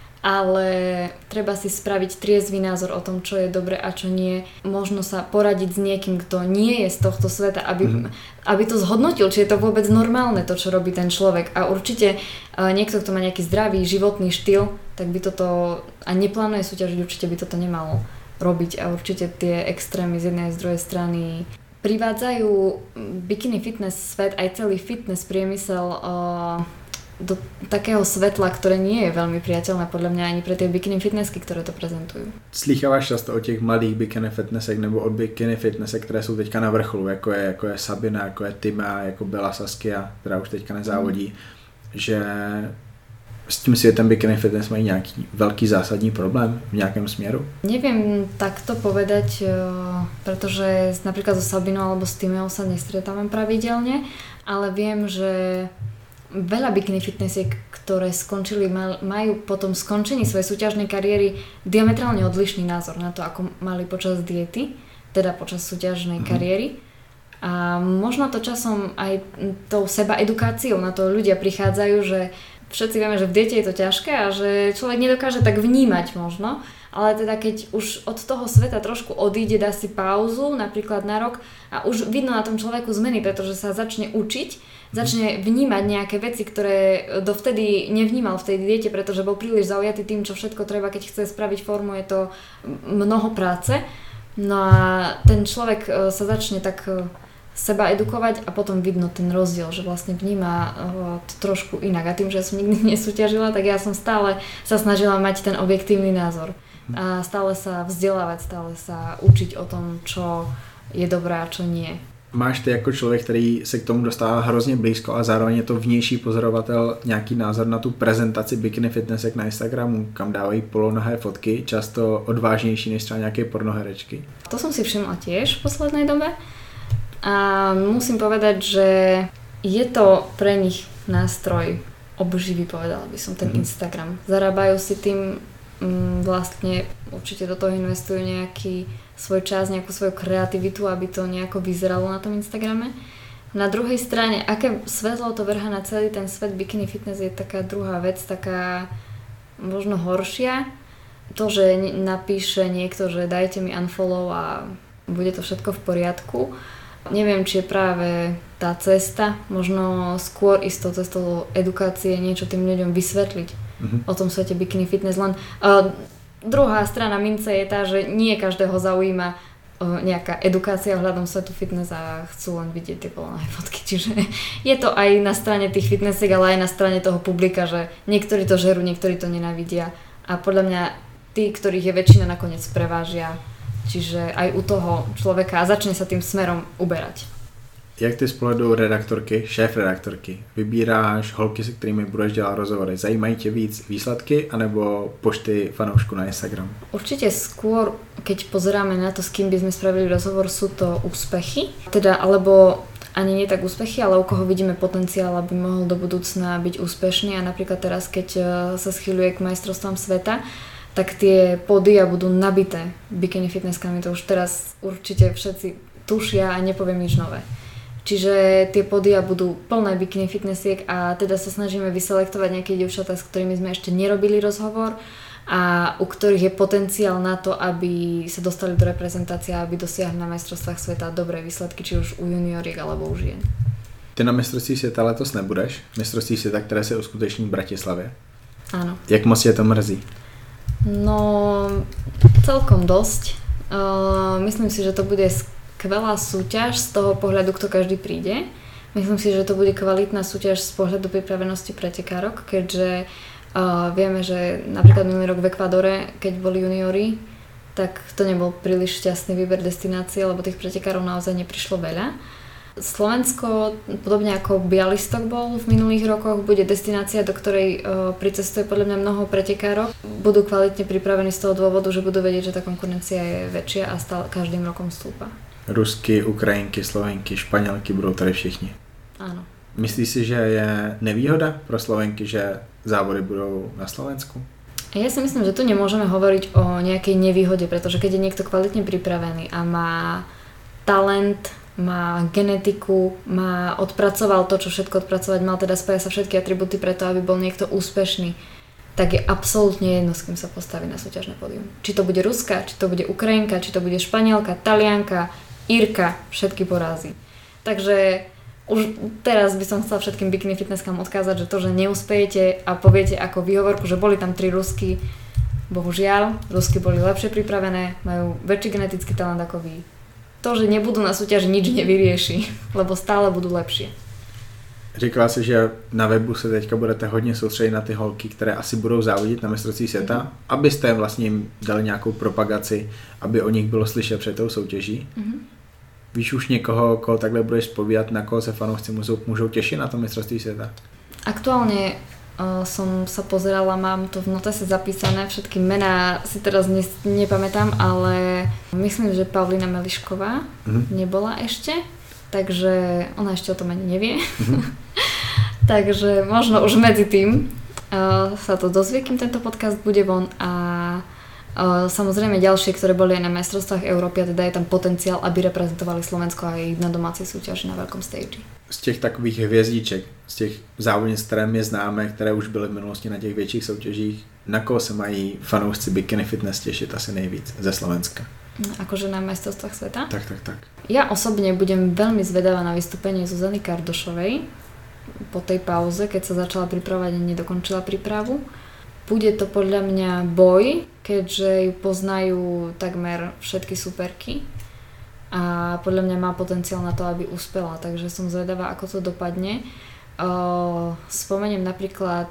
ale treba si spraviť triezvy názor o tom, čo je dobre a čo nie. Možno sa poradiť s niekým, kto nie je z tohto sveta, aby, mm-hmm. aby to zhodnotil, či je to vôbec normálne to, čo robí ten človek. A určite uh, niekto, kto má nejaký zdravý životný štýl, tak by toto, a neplánuje súťažiť, určite by toto nemalo robiť. A určite tie extrémy z jednej a z druhej strany privádzajú bikini fitness svet, aj celý fitness priemysel uh, do takého svetla, ktoré nie je veľmi priateľné podľa mňa ani pre tie bikini fitnessky, ktoré to prezentujú. Slýcháváš často o těch mladých bikini fitnessek nebo od bikini fitnessek, které jsou teďka na vrcholu, jako je, jako je Sabina, jako je Tima, jako Bela Saskia, která už teďka nezávodí, mm. že s tím světem bikini fitness mají nějaký velký zásadní problém v nějakém směru? Neviem takto povedať, pretože napríklad so Sabinou alebo s Timou sa nestretávam pravidelne, ale viem, že veľa bikini fitnessiek, ktoré skončili, majú potom skončení svojej súťažnej kariéry diametrálne odlišný názor na to, ako mali počas diety, teda počas súťažnej mm-hmm. kariéry. A možno to časom aj tou seba edukáciou na to ľudia prichádzajú, že všetci vieme, že v diete je to ťažké a že človek nedokáže tak vnímať možno, ale teda keď už od toho sveta trošku odíde, dá si pauzu, napríklad na rok a už vidno na tom človeku zmeny, pretože sa začne učiť, začne vnímať nejaké veci, ktoré dovtedy nevnímal v tej diete, pretože bol príliš zaujatý tým, čo všetko treba, keď chce spraviť formu, je to mnoho práce. No a ten človek sa začne tak seba edukovať a potom vidno ten rozdiel, že vlastne vníma to trošku inak. A tým, že som nikdy nesúťažila, tak ja som stále sa snažila mať ten objektívny názor. A stále sa vzdelávať, stále sa učiť o tom, čo je dobré a čo nie. Máš ty jako člověk, který se k tomu dostává hrozně blízko a zároveň je to vnější pozorovatel, nějaký názor na tu prezentaci bikini fitnessek na Instagramu, kam dávají polonohé fotky, často odvážnější než třeba nějaké pornoherečky? To som si všimla tiež v poslednej dobe a musím povedať, že je to pre nich nástroj obživy, povedala by som, ten mm. Instagram. Zarábajú si tým mm, vlastne, určite do toho investujú nejaký svoj čas, nejakú svoju kreativitu, aby to nejako vyzeralo na tom Instagrame. Na druhej strane, aké svetlo to vrhá na celý ten svet bikini fitness je taká druhá vec, taká možno horšia. To, že napíše niekto, že dajte mi unfollow a bude to všetko v poriadku. Neviem, či je práve tá cesta, možno skôr ísť tou cestou edukácie, niečo tým ľuďom vysvetliť mm-hmm. o tom svete bikini fitness. Len uh, druhá strana mince je tá, že nie každého zaujíma uh, nejaká edukácia ohľadom svetu fitness a chcú len vidieť tie polonohé fotky. Čiže je to aj na strane tých fitnessiek, ale aj na strane toho publika, že niektorí to žerú, niektorí to nenávidia. A podľa mňa tí, ktorých je väčšina, nakoniec prevážia. Čiže aj u toho človeka a začne sa tým smerom uberať. Jak ty z pohledu redaktorky, šéf redaktorky, vybíráš holky, se kterými budeš dělat rozhovory? Zajímají tě víc výsledky anebo počty fanoušků na Instagram? Určite skôr, keď pozeráme na to, s kým by sme spravili rozhovor, sú to úspechy. Teda, alebo ani nie tak úspechy, ale u koho vidíme potenciál, aby mohol do budúcna byť úspešný. A napríklad teraz, keď sa schýľuje k majstrovstvám sveta, tak tie pódia budú nabité bikini fitnesskami. To už teraz určite všetci tušia a nepoviem nič nové. Čiže tie pódia budú plné bikini fitnessiek a teda sa snažíme vyselektovať nejaké dievčatá, s ktorými sme ešte nerobili rozhovor a u ktorých je potenciál na to, aby sa dostali do reprezentácie a aby dosiahli na majstrovstvách sveta dobré výsledky, či už u junioriek alebo u žien. Ty na mistrovství světa letos nebudeš? Mistrovství světa, které se uskuteční v Bratislavě. Áno. Jak moc je to mrzí? No, celkom dosť. Uh, myslím si, že to bude skvelá súťaž z toho pohľadu, kto každý príde. Myslím si, že to bude kvalitná súťaž z pohľadu pripravenosti pretekárok, keďže uh, vieme, že napríklad minulý rok v Ekvádore, keď boli juniori, tak to nebol príliš šťastný výber destinácie, lebo tých pretekárov naozaj neprišlo veľa. Slovensko, podobne ako Bialystok bol v minulých rokoch, bude destinácia, do ktorej uh, pricestuje podľa mňa mnoho pretekárov. Budú kvalitne pripravení z toho dôvodu, že budú vedieť, že tá konkurencia je väčšia a stále každým rokom stúpa. Rusky, Ukrajinky, Slovenky, Španělky budou tady všichni. Áno. Myslíš si, že je nevýhoda pro Slovenky, že závody budou na Slovensku? Ja si myslím, že tu nemôžeme hovoriť o nejakej nevýhode, pretože keď je niekto kvalitne pripravený a má talent, má genetiku, má odpracoval to, čo všetko odpracovať mal, teda spája sa všetky atributy preto, aby bol niekto úspešný, tak je absolútne jedno, s kým sa postaví na súťažné pódium. Či to bude Ruska, či to bude Ukrajinka, či to bude Španielka, Talianka, Írka, všetky porazí. Takže už teraz by som chcela všetkým bikini fitnesskám odkázať, že to, že neúspejete a poviete ako výhovorku, že boli tam tri Rusky, bohužiaľ, Rusky boli lepšie pripravené, majú väčší genetický talent ako vy. To, že nebudú na súťaži, nič nevyrieši, lebo stále budú lepšie. Říkala si, že na webu se teďka budete hodně soustředit na ty holky, které asi budou závodit na mistrovství světa, mm-hmm. abyste vlastně jim dali nějakou propagaci, aby o nich bylo slyšet před tou soutěží. Mm-hmm. Víš už někoho, koho takhle budeš zpovídat, na koho se fanoušci můžou, můžou těšit na to mistrovství světa? Aktuálne uh, som sa pozerala, mám to v notese zapísané, všetky mená si teraz ne, nepamätám, ale myslím, že Pavlína Melišková mm-hmm. nebola ešte. Takže ona ešte o tom ani nevie. Mm-hmm. Takže možno už medzi tým uh, sa to dozvie, kým tento podcast bude von a uh, samozrejme ďalšie, ktoré boli aj na majstrovstvách Európy, a teda je tam potenciál, aby reprezentovali Slovensko aj na domácej súťaži na veľkom stage. Z těch takových hvězdiček, z těch závodnic, které mě známe, které už byly v minulosti na těch větších soutěžích, na koho se mají fanoušci bikini fitness těšit asi nejvíc ze Slovenska? Akože na majstrovstvách sveta? Tak, tak, tak. Ja osobne budem veľmi zvedavá na vystúpenie Zuzany Kardošovej po tej pauze, keď sa začala pripravovať a nedokončila prípravu. Bude to podľa mňa boj, keďže ju poznajú takmer všetky superky a podľa mňa má potenciál na to, aby uspela, takže som zvedavá, ako to dopadne. Spomeniem napríklad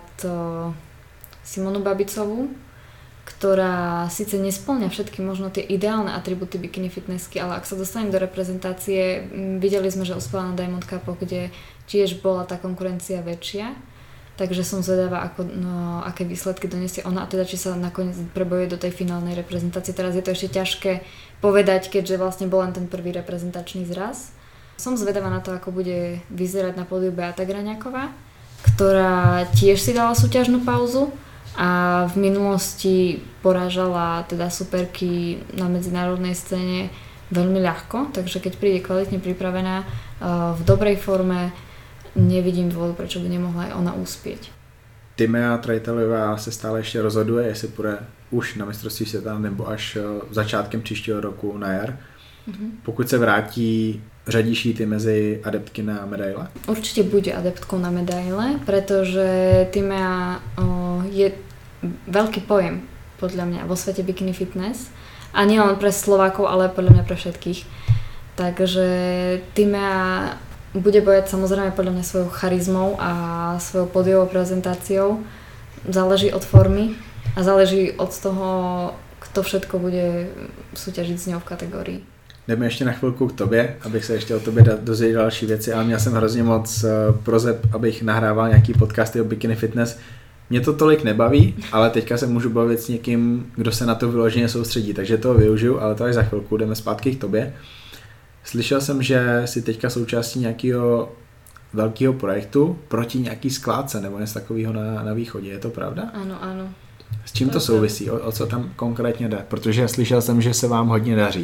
Simonu Babicovú, ktorá síce nespĺňa všetky možno tie ideálne atributy bikini fitnessky, ale ak sa dostanem do reprezentácie, videli sme, že uspela na Diamond Cupu, kde tiež bola tá konkurencia väčšia, takže som zvedavá, ako, no, aké výsledky donesie ona a teda či sa nakoniec prebojuje do tej finálnej reprezentácie. Teraz je to ešte ťažké povedať, keďže vlastne bol len ten prvý reprezentačný zraz. Som zvedavá na to, ako bude vyzerať na pódiu Beata Graňáková, ktorá tiež si dala súťažnú pauzu a v minulosti porážala teda superky na medzinárodnej scéne veľmi ľahko, takže keď príde kvalitne pripravená v dobrej forme, nevidím dôvod, prečo by nemohla aj ona uspieť. Timea Trejtelová se stále ještě rozhoduje, jestli půjde už na mistrovství světa nebo až začátkem příštího roku na jar. Mm-hmm. Pokud se vrátí, řadíš jí ty mezi adeptky na medaile? Určite bude adeptkou na medaile, pretože Timea o, je veľký pojem podľa mňa vo svete bikini fitness a nie len pre Slovákov, ale podľa mňa pre všetkých. Takže Timea bude bojať samozrejme podľa mňa svojou charizmou a svojou pódiovou prezentáciou. Záleží od formy a záleží od toho, kto všetko bude súťažiť s ňou v kategórii. jdeme ještě na chvilku k tobě, abych se ještě o tobě dozvěděl další věci, ale měl jsem hrozně moc prozeb, abych nahrával nějaký podcasty o bikini fitness. Mě to tolik nebaví, ale teďka se můžu bavit s někým, kdo se na to vyloženě soustředí, takže toho využiju, ale to až za chvilku, jdeme zpátky k tobě. Slyšel jsem, že jsi teďka součástí nějakého velkého projektu proti nějaký skládce nebo něco takového na, na východě, je to pravda? Ano, ano. S čím to, to souvisí? O, o co tam konkrétně jde? Protože slyšel jsem, že se vám hodně daří.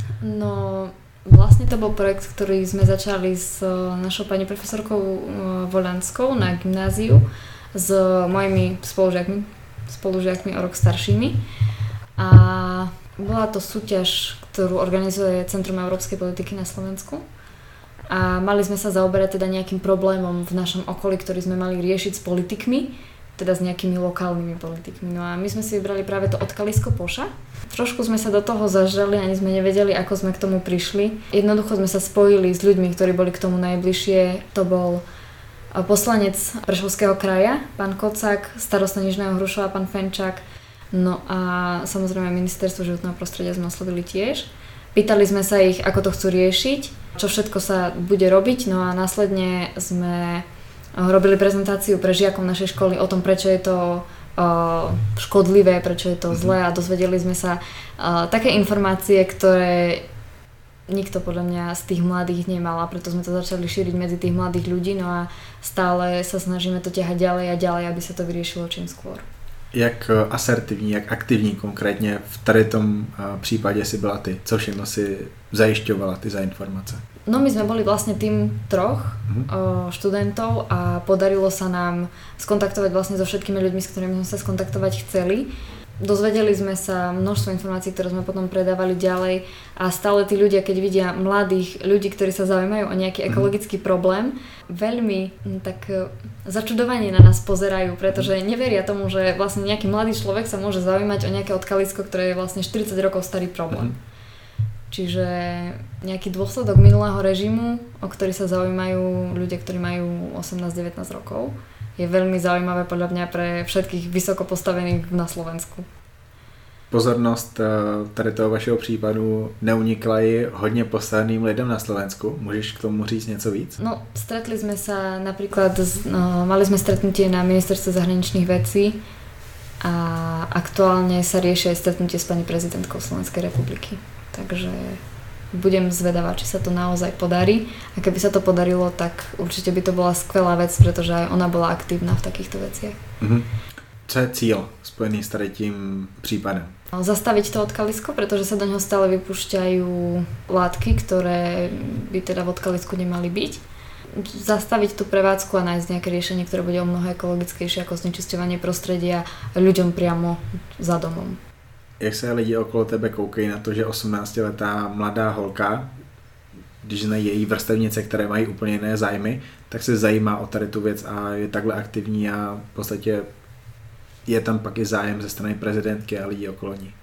No, vlastne to bol projekt, ktorý sme začali s našou pani profesorkou Volanskou na gymnáziu, s mojimi spolužiakmi, spolužiakmi o rok staršími. A bola to súťaž, ktorú organizuje Centrum európskej politiky na Slovensku. A mali sme sa zaoberať teda nejakým problémom v našom okolí, ktorý sme mali riešiť s politikmi, teda s nejakými lokálnymi politikmi. No a my sme si vybrali práve to odkalisko Poša. Trošku sme sa do toho zažrali, ani sme nevedeli, ako sme k tomu prišli. Jednoducho sme sa spojili s ľuďmi, ktorí boli k tomu najbližšie. To bol poslanec Prešovského kraja, pán Kocák, starosta Nižného Hrušova, pán Fenčák. No a samozrejme ministerstvo životného prostredia sme oslovili tiež. Pýtali sme sa ich, ako to chcú riešiť, čo všetko sa bude robiť. No a následne sme robili prezentáciu pre žiakov našej školy o tom, prečo je to uh, škodlivé, prečo je to zlé a dozvedeli sme sa uh, také informácie, ktoré nikto podľa mňa z tých mladých nemal a preto sme to začali šíriť medzi tých mladých ľudí, no a stále sa snažíme to ťahať ďalej a ďalej, aby sa to vyriešilo čím skôr. Jak asertivní, jak aktivní konkrétně v tady tom případě si byla ty? Co všechno si zajišťovala ty za informace? No my sme boli vlastne tým troch mm-hmm. o, študentov a podarilo sa nám skontaktovať vlastne so všetkými ľuďmi, s ktorými sme sa skontaktovať chceli. Dozvedeli sme sa množstvo informácií, ktoré sme potom predávali ďalej a stále tí ľudia, keď vidia mladých ľudí, ktorí sa zaujímajú o nejaký ekologický problém, veľmi tak začudovane na nás pozerajú, pretože neveria tomu, že vlastne nejaký mladý človek sa môže zaujímať o nejaké odkalisko, ktoré je vlastne štyridsať rokov starý problém. Čiže nejaký dôsledok minulého režimu, o ktorý sa zaujímajú ľudia, ktorí majú osemnásť devätnásť rokov, je veľmi zaujímavé podľa mňa pre všetkých vysoko postavených na Slovensku. Pozornost tady toho vašeho případu neunikla i hodně postaveným lidem na Slovensku. Můžeš k tomu říct něco víc? No, stretli sme sa napríklad, no, mali sme stretnutie na ministerstve zahraničných vecí a aktuálne sa rieši aj stretnutie s pani prezidentkou Slovenskej republiky. Takže budem zvedavá, či sa to naozaj podarí. A keby sa to podarilo, tak určite by to bola skvelá vec, pretože aj ona bola aktívna v takýchto veciach. Mm-hmm. Co je cíl spojený s tady tím případem? Zastaviť to odkalisko, pretože sa do neho stále vypúšťajú látky, ktoré by teda v odkalisku nemali byť. Zastaviť tú prevádzku a nájsť nejaké riešenie, ktoré bude o mnoho ekologickejšie ako znečisťovanie prostredia ľuďom priamo za domom. Jak se lidi okolo tebe koukají na to, že osmnáctiletá mladá holka, když znají její vrstevnice, které mají úplně jiné zájmy, tak se zajímá o tady tu věc a je takhle aktivní a v podstatě je tam pak i zájem ze strany prezidentky a lidí okolo ní?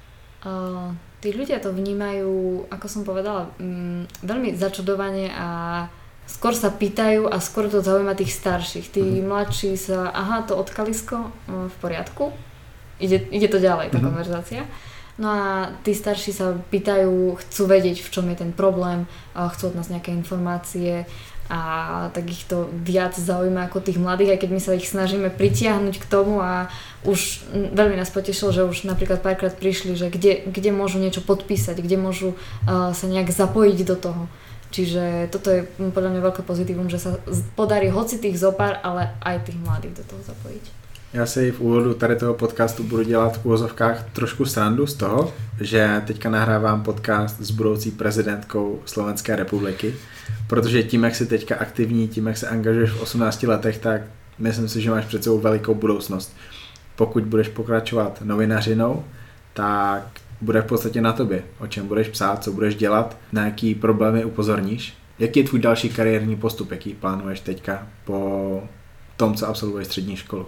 Uh, tí ľudia to vnímajú, ako som povedala, um, veľmi začudovane a skôr sa pýtajú a skôr to zaujíma tých starších. Tí mm-hmm. mladší sa, aha, to odkalisko, uh, v poriadku. Ide, ide to ďalej, tá mm-hmm. konverzácia. No a tí starší sa pýtajú, chcú vedieť, v čom je ten problém, chcú od nás nejaké informácie a tak ich to viac zaujíma ako tých mladých, aj keď my sa ich snažíme pritiahnuť k tomu a už veľmi nás potešilo, že už napríklad párkrát prišli, že kde, kde môžu niečo podpísať, kde môžu uh, sa nejak zapojiť do toho. Čiže toto je podľa mňa veľké pozitívum, že sa podarí hoci tých zopár, ale aj tých mladých do toho zapojiť. Já si v úvodu tady toho podcastu budu dělat v úvozovkách trošku srandu z toho, že teďka nahrávám podcast s budoucí prezidentkou Slovenské republiky, protože tím, jak jsi teďka aktivní, tím, jak se angažuješ v osmnácti letech, tak myslím si, že máš před sebou velikou budoucnost. Pokud budeš pokračovat novinařinou, tak bude v podstatě na tobě, o čem budeš psát, co budeš dělat, na jaký problémy upozorníš. Jaký je tvůj další kariérní postup, jaký plánuješ teďka po tom, co absolvuješ střední školu?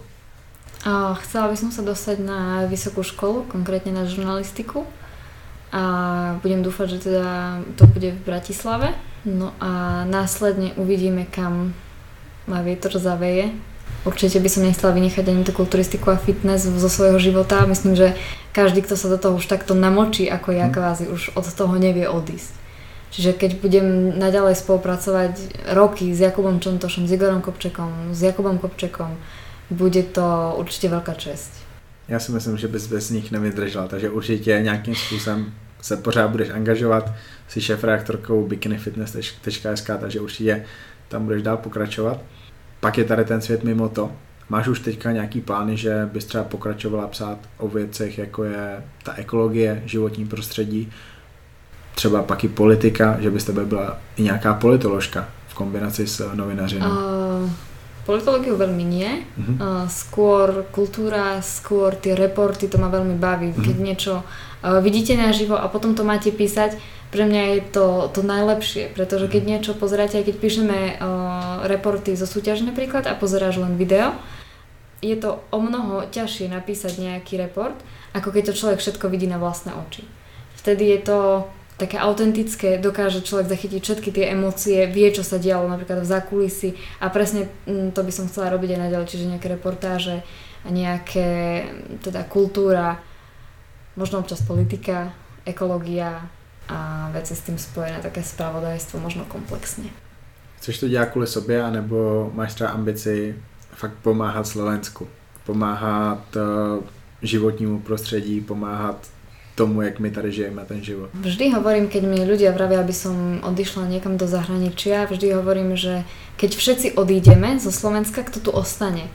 Chcela by som sa dostať na vysokú školu, konkrétne na žurnalistiku a budem dúfať, že teda to bude v Bratislave. No a následne uvidíme, kam ma vietor zaveje. Určite by som nechcela vynechať ani tú kulturistiku a fitness zo svojho života. Myslím, že každý, kto sa do toho už takto namočí ako ja kvázi, už od toho nevie odísť. Čiže keď budem naďalej spolupracovať roky s Jakubom Čontošom, s Igorom Kopčekom, s Jakubom Kopčekom, bude to určite veľká česť. Já si myslím, že bys bez nich nevydržela, takže určitě nějakým způsobem se pořád budeš angažovat, jsi šéfredaktorkou bikinifitness tečka es ká, takže určitě tam budeš dál pokračovat. Pak je tady ten svět mimo to. Máš už teďka nějaký plány, že bys třeba pokračovala psát o věcech, jako je ta ekologie, životní prostředí, třeba pak i politika, že bys tebe byla i nějaká politoložka v kombinaci s novinařinou? Uh, politológiu veľmi nie. Uh-huh. Uh, skôr kultúra, skôr tie reporty, to ma veľmi baví. Uh-huh. Keď niečo uh, vidíte naživo a potom to máte písať, pre mňa je to, to najlepšie, pretože keď niečo pozeráte, aj keď píšeme uh, reporty zo súťaže napríklad a pozeráš len video, je to o mnoho ťažšie napísať nejaký report, ako keď to človek všetko vidí na vlastné oči. Vtedy je to také autentické, dokáže človek zachytiť všetky tie emócie, vie, čo sa dialo napríklad v zákulisí a presne to by som chcela robiť aj naďalej, čiže nejaké reportáže a nejaké, teda kultúra, možno občas politika, ekológia a veci s tým spojené, také spravodajstvo, možno komplexne. Chceš to dělat kvůli sobě, anebo máš třeba ambici fakt pomáhat Slovensku, pomáhat uh, životnímu prostředí, pomáhat tomu, jak my tady žijeme ten život? Vždy hovorím, keď mi ľudia vravia, aby som odišla niekam do zahraničia, vždy hovorím, že keď všetci odídeme zo Slovenska, kto tu ostane?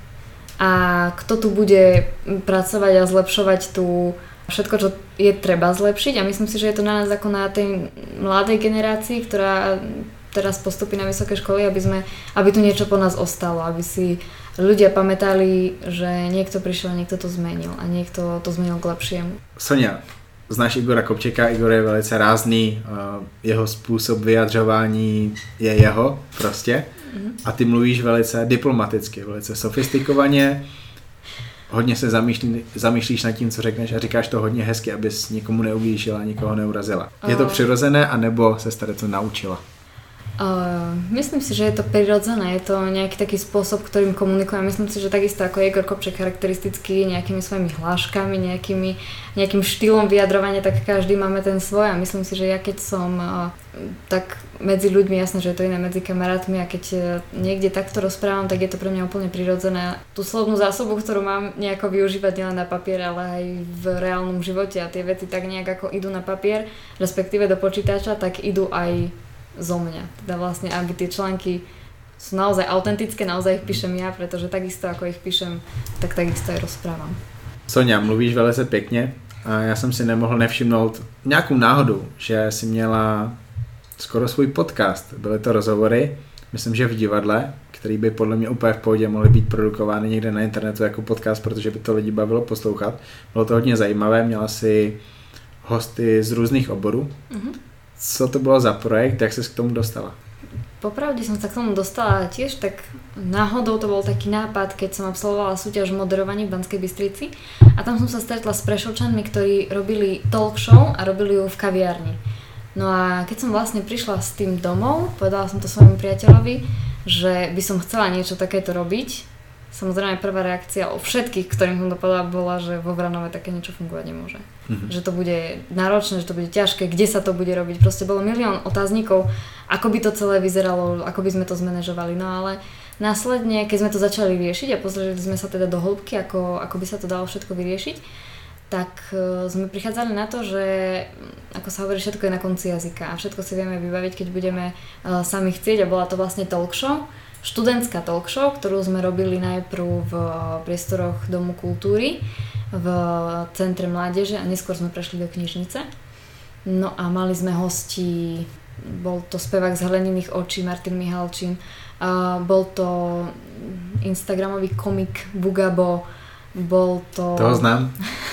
A kto tu bude pracovať a zlepšovať tu všetko, čo je treba zlepšiť? A myslím si, že je to na nás ako na tej mladej generácii, ktorá teraz postupí na vysoké školy, aby, sme, aby tu niečo po nás ostalo, aby si ľudia pamätali, že niekto prišiel a niekto to zmenil a niekto to zmenil k lepšiemu. Sonia, znáš Igora Kopčeka, Igor je velice rázný, jeho způsob vyjadřování je jeho prostě a ty mluvíš velice diplomaticky, velice sofistikovaně, hodně se zamýšlí, zamýšlíš nad tím, co řekneš a říkáš to hodně hezky, abys nikomu neublížila, nikoho neurazila. Je to přirozené, anebo se tady to naučila? Uh, myslím si, že je to prirodzené, je to nejaký taký spôsob, ktorým komunikujem. Myslím si, že takisto ako Igor Kopček charakteristický nejakými svojimi hláškami, nejakými, nejakým štýlom vyjadrovania, tak každý máme ten svoj a myslím si, že ja keď som uh, tak medzi ľuďmi, jasné, že je to iné medzi kamarátmi a keď uh, niekde takto rozprávam, tak je to pre mňa úplne prirodzené. Tú slovnú zásobu, ktorú mám nejako využívať nielen na papier, ale aj v reálnom živote a tie veci tak nejak ako idú na papier, respektíve do počítača, tak idú aj zo mňa. Teda vlastne, aby tie články sú naozaj autentické, naozaj ich píšem ja, pretože takisto ako ich píšem, tak takisto aj rozprávam. Sonia, mluvíš velice pěkně a já jsem si nemohl nevšimnout nějakou náhodu, že jsi měla skoro svůj podcast. Byly to rozhovory, myslím, že v divadle, který by podle mě úplně v pohodě mohly být produkovány někde na internetu jako podcast, protože by to lidi bavilo poslouchat. Bylo to hodně zajímavé, měla si hosty z různých oborů. Mm-hmm. Co to bolo za projekt, jak ses k tomu dostala? Popravde som sa k tomu dostala tiež tak náhodou, to bol taký nápad, keď som absolvovala súťaž v moderovaní v Banskej Bystrici a tam som sa stretla s Prešovčanmi, ktorí robili talk show a robili ju v kaviarni. No a keď som vlastne prišla s tým domov, povedala som to svojmu priateľovi, že by som chcela niečo takéto robiť. Samozrejme prvá reakcia o všetkých, ktorým som to povedala, bola, že vo Vranove také niečo fungovať nemôže. Mm-hmm. Že to bude náročné, že to bude ťažké, kde sa to bude robiť. Proste bolo milión otáznikov, ako by to celé vyzeralo, ako by sme to zmanéžovali. No ale následne, keď sme to začali riešiť a pozreli sme sa teda do hĺbky, ako, ako by sa to dalo všetko vyriešiť, tak uh, sme prichádzali na to, že ako sa hovorí, všetko je na konci jazyka a všetko si vieme vybaviť, keď budeme uh, sami chcieť a bola to vlastne talk show. Študentská talk show, ktorú sme robili najprv v priestoroch Domu kultúry v Centre mládeže a neskôr sme prešli do knižnice. No a mali sme hostí, bol to spevák z Hleniných očí Martin Mihalčín, a bol to instagramový komik Bugabo, bol to... Toho znám.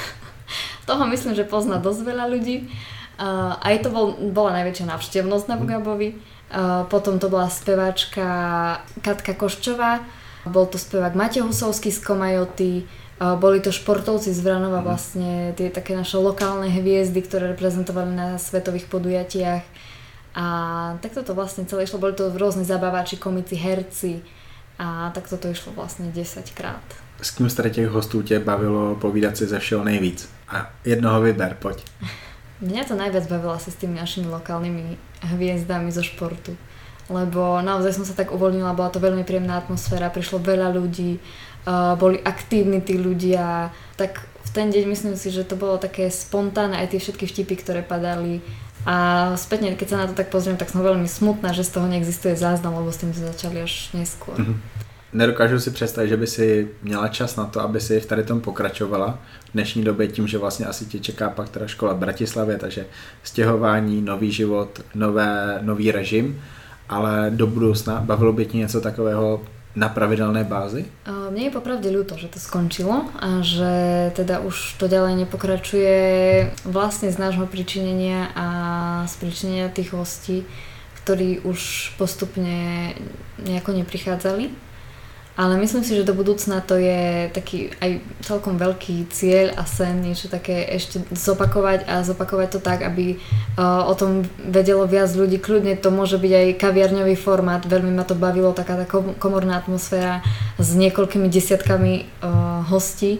Toho myslím, že pozná dosť veľa ľudí. A aj to bol, bola najväčšia návštevnosť na Bugabovi. Uh, potom to bola speváčka Katka Koščová, bol to spevák Matej Husovský z Komajoty, uh, boli to športovci z Vranova, vlastne tie také naše lokálne hviezdy, ktoré reprezentovali na svetových podujatiach a takto to vlastne celé išlo, boli to rôzni zabávači, komici, herci a takto to išlo vlastne desaťkrát. S kým z těch hostů tě bavilo povídat si ze všeho nejvíc? A jednoho vyber, poď. Mňa to najviac bavilo asi s tými našimi lokálnymi hviezdami zo športu. Lebo naozaj som sa tak uvoľnila, bola to veľmi príjemná atmosféra, prišlo veľa ľudí, uh, boli aktívni tí ľudia, tak v ten deň myslím si, že to bolo také spontánne, aj tie všetky vtipy, ktoré padali. A spätne, keď sa na to tak pozriem, tak som veľmi smutná, že z toho neexistuje záznam, lebo s tým sme začali až neskôr. Mm-hmm. Nedokážu si představit, že by si měla čas na to, aby si v tady tom pokračovala v dnešní době tím, že vlastně asi tě čeká pak teda škola v Bratislavě, takže stěhování, nový život, nové, nový režim, ale do budoucna bavilo by ti něco takového na pravidelné bázi? Mne je popravde ľúto, že to skončilo a že teda už to ďalej nepokračuje vlastne z nášho pričinenia a z pričinenia tých hostí, ktorí už postupne nejako neprichádzali. Ale myslím si, že do budúcna to je taký aj celkom veľký cieľ a sen, niečo také ešte zopakovať a zopakovať to tak, aby uh, o tom vedelo viac ľudí. Kľudne to môže byť aj kaviarňový formát, veľmi ma to bavilo, taká tá komorná atmosféra s niekoľkými desiatkami uh, hostí,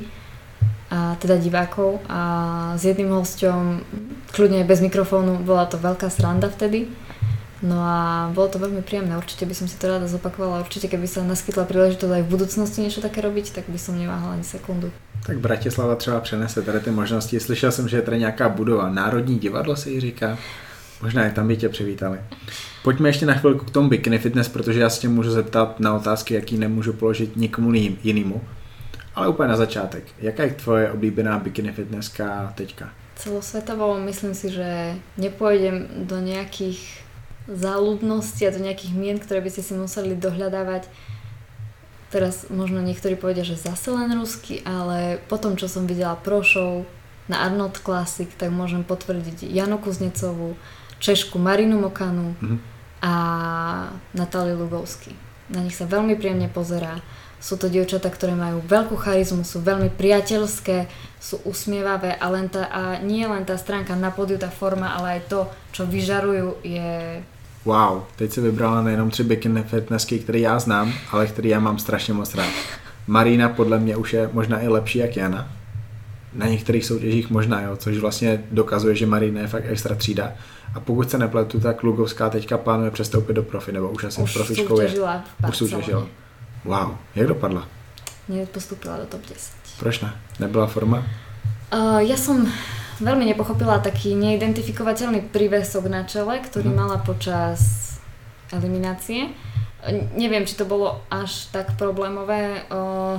a teda divákov a s jedným hosťom, kľudne aj bez mikrofónu, bola to veľká sranda vtedy. No a bolo to veľmi príjemné, určite by som si to rada zopakovala, určite keby sa naskytla príležitosť aj v budúcnosti niečo také robiť, tak by som neváhala ani sekundu. Tak Bratislava třeba přenese tady ty možnosti. Slyšel jsem, že je tady nějaká budova, Národní divadlo se jí říká, možná i tam by tě přivítali. Pojďme ještě na chvilku k tomu bikini fitness, protože já se tě můžu zeptat na otázky, jaký nemůžu položit nikomu jinému. Ale úplně na začátek, jaká je tvoje oblíbená bikini fitnesska teďka? Celosvetovo myslím si, že nepôjdem do nejakých záľudnosti a do nejakých mien, ktoré by ste si museli dohľadávať. Teraz možno niektorí povedia, že zase len rusky, ale po tom, čo som videla pro show na Arnold Classic, tak môžem potvrdiť Janu Kuznecovú, Češku Marinu Mokanu mm-hmm. a Natáliu Lugovsky. Na nich sa veľmi príjemne pozerá. Sú to dievčatá, ktoré majú veľkú charizmu, sú veľmi priateľské, sú usmievavé a, len tá, a nie len tá stránka na pódiu, tá forma, ale aj to, čo vyžarujú, je... Wow, teď si vybrala nejenom tři bikini fitnessky, které já znám, ale které já mám strašně moc rád. Marina podle mě už je možná i lepší jak Jana. Na některých soutěžích možná, jo, což vlastně dokazuje, že Marina je fakt extra třída. A pokud se nepletu, tak Lugovská teďka plánuje přestoupit do profi, nebo už asi už profičkou je. Už soutěžila. Wow, jak dopadla? Nepostúpila do top desať. Proč ne? Nebyla forma? Uh, ja som veľmi nepochopila taký neidentifikovateľný prívesok na čele, ktorý mm. mala počas eliminácie. Uh, neviem, či to bolo až tak problémové. Uh,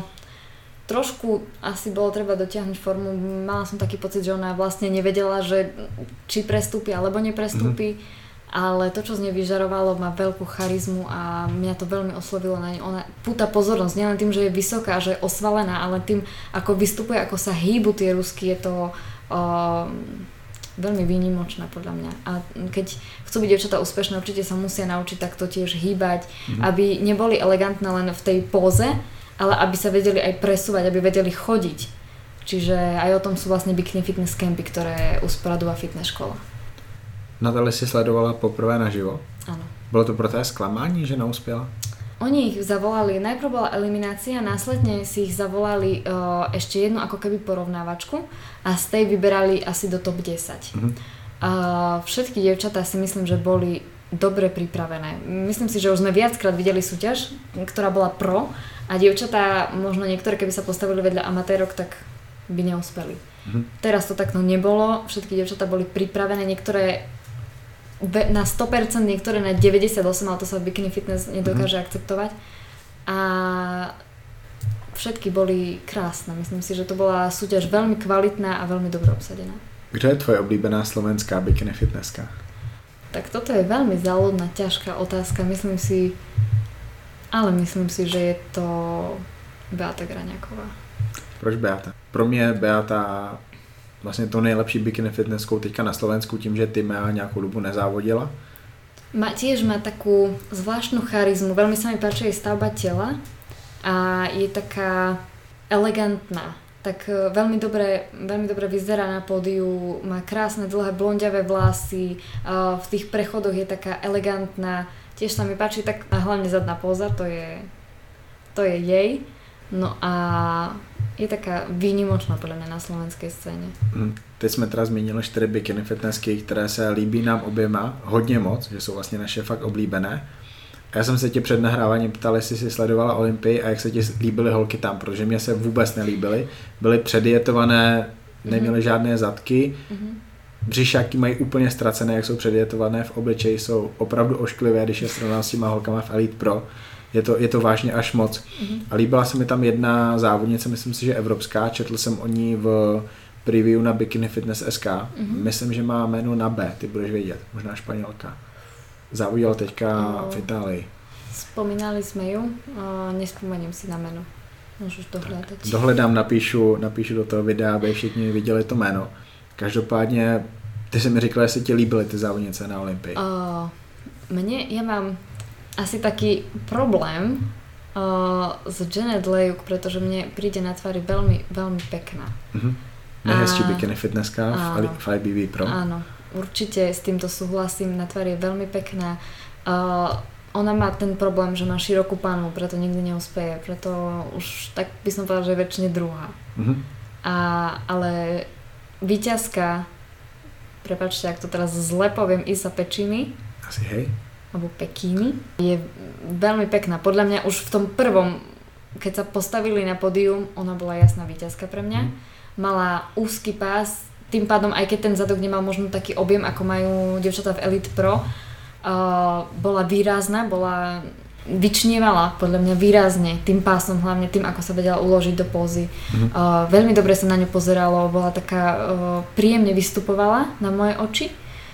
trošku asi bolo treba dotiahnuť formu. Mala som taký pocit, že ona vlastne nevedela, že či prestúpi alebo neprestúpi. Mm. Ale to, čo z nej vyžarovalo, má veľkú charizmu a mňa to veľmi oslovilo na nej. Ona púta pozornosť, nielen tým, že je vysoká, že je osvalená, ale tým, ako vystupuje, ako sa hýbu tie rusky, je to uh, veľmi výnimočné podľa mňa. A keď chcú byť dievčatá úspešné, určite sa musia naučiť takto tiež hýbať, mm. aby neboli elegantné len v tej póze, ale aby sa vedeli aj presúvať, aby vedeli chodiť. Čiže aj o tom sú vlastne bikini fitness campy, ktoré usporadúva fitness škola. Natali si sledovala poprvé naživo? Áno. Bolo to pro té sklamání, že neuspěla? Oni ich zavolali, najprv bola eliminácia, následne si ich zavolali uh, ešte jednu ako keby porovnávačku a z tej vyberali asi do top desať. Mm-hmm. Uh, všetky dievčatá si myslím, že boli dobre pripravené. Myslím si, že už sme viackrát videli súťaž, ktorá bola pro a dievčatá, možno niektoré, keby sa postavili vedľa amatérok, tak by neúspeli. Mm-hmm. Teraz to takto nebolo, všetky dievčatá boli pripravené, niektoré na sto percent, niektoré na deväťdesiatosem, ale to sa v bikini fitness nedokáže mm. akceptovať. A všetky boli krásne. Myslím si, že to bola súťaž veľmi kvalitná a veľmi dobre obsadená. Kto je tvoje obľúbená slovenská bikini fitnesska? Tak toto je veľmi záľudná, ťažká otázka. Myslím si, ale myslím si, že je to Beata Graňáková. Proč Beata? Pro mě Beata vlastně to nejlepší bikini fitnesskou teďka na Slovensku tím, že Týmea nějakou dobu nezávodila. Má, tiež má takú zvláštnu charizmu, veľmi sa mi páči jej stavba tela a je taká elegantná. Tak veľmi dobre, veľmi dobre vyzerá na pódiu, má krásne dlhé blondiavé vlasy, v tých prechodoch je taká elegantná. Tiež sa mi páči tak, a hlavne zadná póza, to je, to je jej. No a je taká výnimočná podle mě na slovenské scéně. Hmm. Teď jsme teda zmínili čtyři bikini fitnessky, které se líbí nám oběma hodně moc, že jsou vlastně naše fakt oblíbené. Já jsem se tě před nahráváním ptal, jestli jsi sledovala Olympii a jak se ti líbily holky tam, protože mě se vůbec nelíbily. Byly předietované, neměly mm-hmm. žádné zadky, mm-hmm. břišáky mají úplně ztracené, jak jsou předietované, v obličeji jsou opravdu ošklivé, když je srovnám s těma holkama v Elite Pro. Je to, je to vážně až moc. Mm-hmm. A líbila se mi tam jedna závodnice, myslím si, že evropská, četl jsem o ní v preview na Bikini Fitness S K. Mm-hmm. Myslím, že má jméno na B, ty budeš vědět, možná Španělka. Závodila teďka no, v Itálii. Spomínali jsme ju, nespomením si na jméno. Můžeš dohledat. Dohledám, napíšu, napíšu do toho videa, aby všichni viděli to jméno. Každopádně, ty jsi mi říkala, že se ti líbily ty závodnice na Olympii. Uh, mne, ja mám asi taký problém uh, s Janet Lejuk, pretože mne príde na tvári veľmi, veľmi pekná. Uh-huh. Nejhezčí bikini fitnesska v, v I B B Pro. Áno, určite s týmto súhlasím, na tvári je veľmi pekná. Uh, ona má ten problém, že má širokú panu, preto nikdy neúspeje, preto už tak by som povedala, že je väčšine druhá. Uh-huh. A, ale víťazka, prepáčte, ak to teraz zle poviem, Isa Pečiny. Asi hej. Alebo Pekíny. Je veľmi pekná. Podľa mňa už v tom prvom, keď sa postavili na pódium, ona bola jasná víťazka pre mňa. Uh-huh. Mala úzky pás, tým pádom aj keď ten zadok nemal možno taký objem, ako majú dievčatá v Elite Pro, uh, bola výrazná, bola vyčnievala podľa mňa výrazne tým pásom, hlavne tým, ako sa vedela uložiť do pózy. Mm-hmm. Uh, veľmi dobre sa na ňu pozeralo, bola taká, uh, príjemne vystupovala na moje oči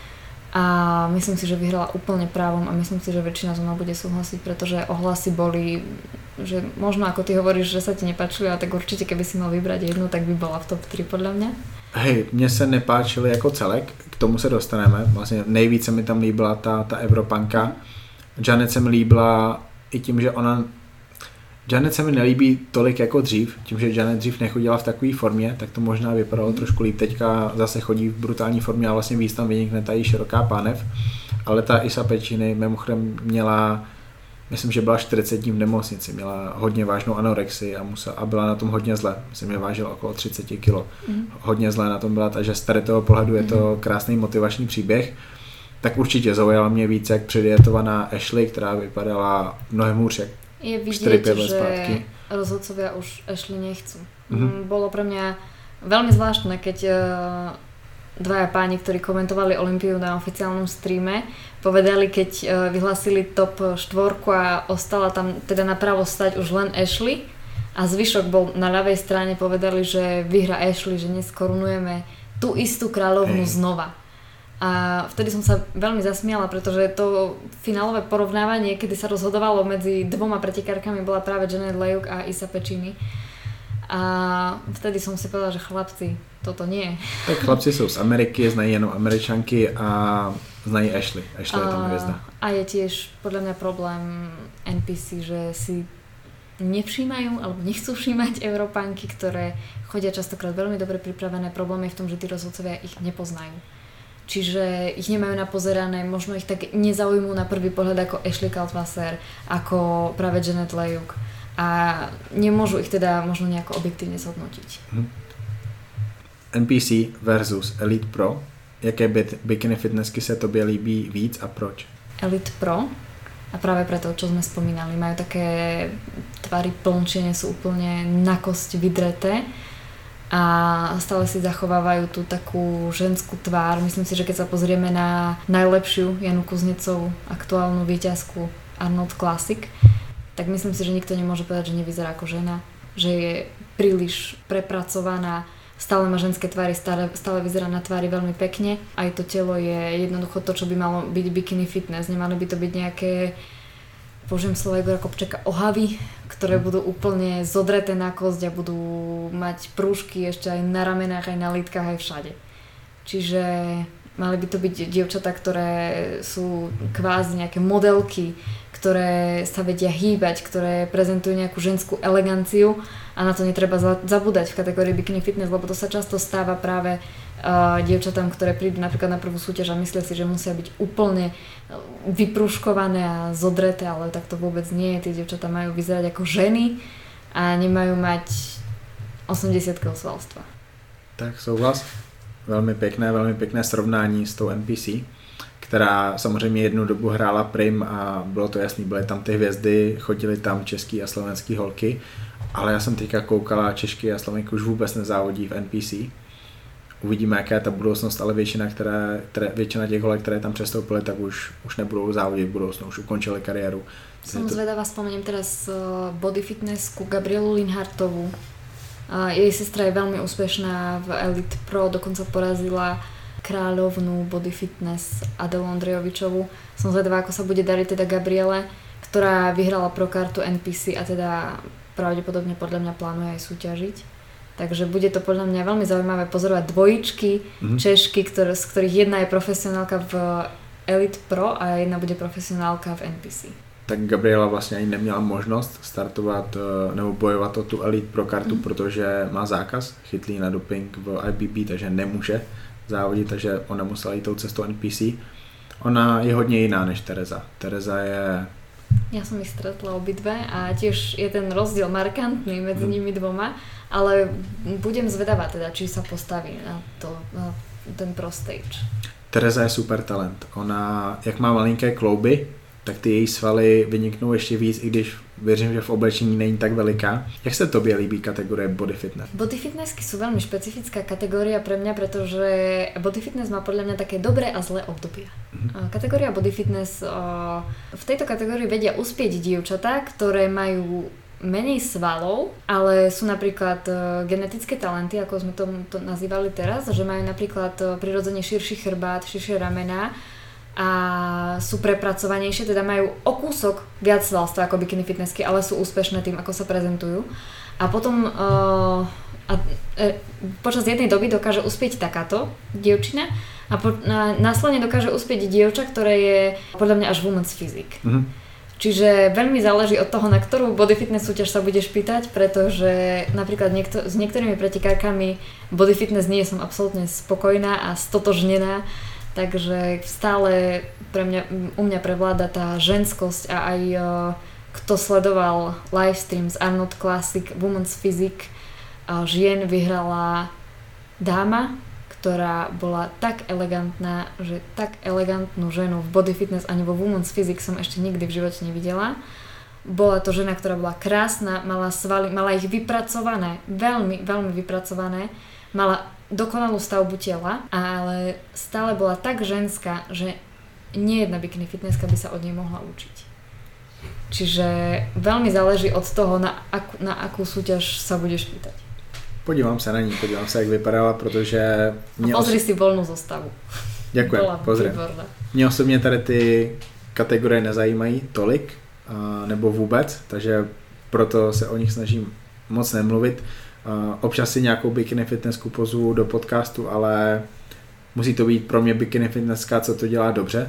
a myslím si, že vyhrala úplne právom a myslím si, že väčšina zo mnou bude súhlasiť, pretože ohlasy boli, že možno ako ty hovoríš, že sa ti nepáčili, ale tak určite keby si mal vybrať jednu, tak by bola v top tri podľa mňa. Hej, mně se nepáčily jako celek, k tomu se dostaneme. Vlastně nejvíce mi tam líbila ta, ta Evropanka. Janet se mi líbila i tím, že ona... Janet se mi nelíbí tolik jako dřív, tím, že Janet dřív nechodila v takové formě, tak to možná vypadalo mm. trošku líp. Teďka zase chodí v brutální formě a vlastně víc tam vynikne ta jí široká pánev. Ale ta Isa Pečiny mimochodem měla, myslím, že byla čtyřicet dní v nemocnici, měla hodně vážnou anorexii a, musela, a byla na tom hodně zle. Myslím, že vážila okolo třicet kilo. Mm. Hodně zle na tom byla, takže z tady toho pohledu je to krásný motivační příběh. Tak určitě zaujala mě víc jak předietovaná Ashley, která vypadala mnohem hůř jak je vidieť, že zpátky. Rozhodcovia už Ashley nechcú. Mm-hmm. Bolo pre mňa veľmi zvláštne, keď uh, dvaja páni, ktorí komentovali Olympiu na oficiálnom streame, povedali, keď uh, vyhlásili top štvorku a ostala tam teda napravo stať už len Ashley a zvyšok bol na ľavej strane, povedali, že vyhra Ashley, že dnes korunujeme tú istú kráľovnu hey. znova. A vtedy som sa veľmi zasmiala, pretože to finálové porovnávanie, kedy sa rozhodovalo medzi dvoma pretekárkami, bola práve Janet Lejuk a Isa Pečiny. A vtedy som si povedala, že chlapci, toto nie. Tak chlapci sú z Ameriky, znají jenom Američanky a znají Ashley. Ashley je tam hviezda. A je tiež podľa mňa problém N P C, že si nevšímajú alebo nechcú všímať Európanky, ktoré chodia častokrát veľmi dobre pripravené. Problém je v tom, že tí rozhodcovia ich nepoznajú. Čiže ich nemajú napozerané, možno ich tak nezaujmú na prvý pohľad ako Ashley Kaltwasser, ako práve Janet Lejuk a nemôžu ich teda možno nejako objektívne zhodnotiť. Hmm. N P C versus Elite Pro, jaké bikini fitnessky sa tobě líbí víc a proč? Elite Pro a práve preto, čo sme spomínali, majú také tvary plnčie, nie sú úplne na kosť vydreté a stále si zachovávajú tú takú ženskú tvár. Myslím si, že keď sa pozrieme na najlepšiu Janu Kuznecovú, aktuálnu víťazku Arnold Classic, tak myslím si, že nikto nemôže povedať, že nevyzerá ako žena, že je príliš prepracovaná, stále má ženské tvary, stále, stále vyzerá na tvári veľmi pekne. Aj to telo je jednoducho to, čo by malo byť bikini fitness. Nemali by to byť nejaké, použijem slovo Igora Kopčeka, ohavy, ktoré budú úplne zodreté na kosť a budú mať prúžky ešte aj na ramenách, aj na lítkach, aj všade. Čiže mali by to byť dievčatá, ktoré sú kvázi nejaké modelky, ktoré sa vedia hýbať, ktoré prezentujú nejakú ženskú eleganciu a na to netreba zabúdať v kategórii bikini fitness, lebo to sa často stáva práve uh, dievčatám, ktoré prídu napríklad na prvú súťaž a myslia si, že musia byť úplne vyprúškované a zodreté, ale tak to vôbec nie je. Tie dievčatá majú vyzerať ako ženy a nemajú mať osemdesiat kilogramov svalstva. Tak souhlas. Velmi pěkné, velmi pěkné srovnání s tou N P C, která samozřejmě jednu dobu hrála prim a bylo to jasný, byly tam ty hvězdy, chodili tam český a slovenský holky, ale já jsem teďka koukala, Češky a Slovenky už vůbec nezávodí v N P C. Uvidíme, jaká je ta budoucnost, ale většina, které, které, většina těch holek, které tam přestoupily, tak už, už nebudou závodit v budoucnu, už ukončili kariéru. Som to... zvedavá, spomeniem teraz body fitnessku Gabrielu Linhartovú. Jej sestra je veľmi úspešná v Elite Pro, dokonca porazila kráľovnú body fitness Adelu Ondrejovičovú. Som zvedavá, ako sa bude dariť teda Gabriele, ktorá vyhrala pro kartu N P C a teda pravdepodobne podľa mňa plánuje aj súťažiť. Takže bude to podľa mňa veľmi zaujímavé pozorovať dvojičky mm-hmm. Češky, ktoré, z ktorých jedna je profesionálka v Elite Pro a jedna bude profesionálka v N P C. Tak Gabriela vlastně ani neměla možnost startovat nebo bojovat o tu Elite Pro kartu, mm-hmm. protože má zákaz chytlý na doping v I B B, takže nemůže závodit, takže ona musela jít tou cestou N P C. Ona je hodně jiná než Tereza. Tereza je... Ja som ich stretla obidve a tiež je ten rozdiel markantný medzi mm. nimi dvoma, ale budem zvedavá teda, či sa postaví na, to, na ten pro stage. Tereza je super talent. Ona, jak má malinké klouby, tak ty její svaly vyniknou ještě víc, i když věřím, že v oblečení není tak veliká. Jak se tobě líbí kategorie body fitness? Body fitnessky sú veľmi špecifická kategória pre mňa, pretože body fitness má podľa mňa také dobré a zlé obdobia. Mm-hmm. Kategória body fitness, v tejto kategórii vedia uspieť dievčatá, ktoré majú menej svalov, ale sú napríklad genetické talenty, ako sme to, to nazývali teraz, že majú napríklad prirodzene širší chrbát, širšie ramená, a sú prepracovanejšie, teda majú o kúsok viac svalstva ako bikini fitnessky, ale sú úspešné tým, ako sa prezentujú. A potom uh, a, e, počas jednej doby dokáže uspieť takáto dievčina a, po, a následne dokáže uspieť dievča, ktoré je podľa mňa až women's physique. Mm-hmm. Čiže veľmi záleží od toho, na ktorú body fitness súťaž sa budeš pýtať, pretože napríklad niekto, s niektorými pretekárkami body fitness nie som absolútne spokojná a stotožnená. Takže stále pre mňa, u mňa prevláda tá ženskosť a aj uh, kto sledoval livestream z Arnold Classic Women's Physique uh, žien vyhrala dáma, ktorá bola tak elegantná, že tak elegantnú ženu v body fitness ani vo Women's Physique som ešte nikdy v živote nevidela. Bola to žena, ktorá bola krásna, mala svaly, mala ich vypracované, veľmi, veľmi vypracované, mala dokonalú stavbu tela, ale stále bola tak ženská, že nie jedna bikini fitnesska by sa od nej mohla učiť. Čiže veľmi záleží od toho, na, akú, na akú súťaž sa budeš pýtať. Podívám sa na ní, podívám sa, jak vypadala, protože... Mě pozri os... si voľnú zostavu. Ďakujem, pozriem. Mě osobně tady ty kategorie nezajímají tolik, nebo vůbec, takže proto se o nich snažím moc nemluvit. Uh, občas si nějakou bikini fitnessku pozvu do podcastu, ale musí to být pro mě bikini fitnesska, co to dělá dobře.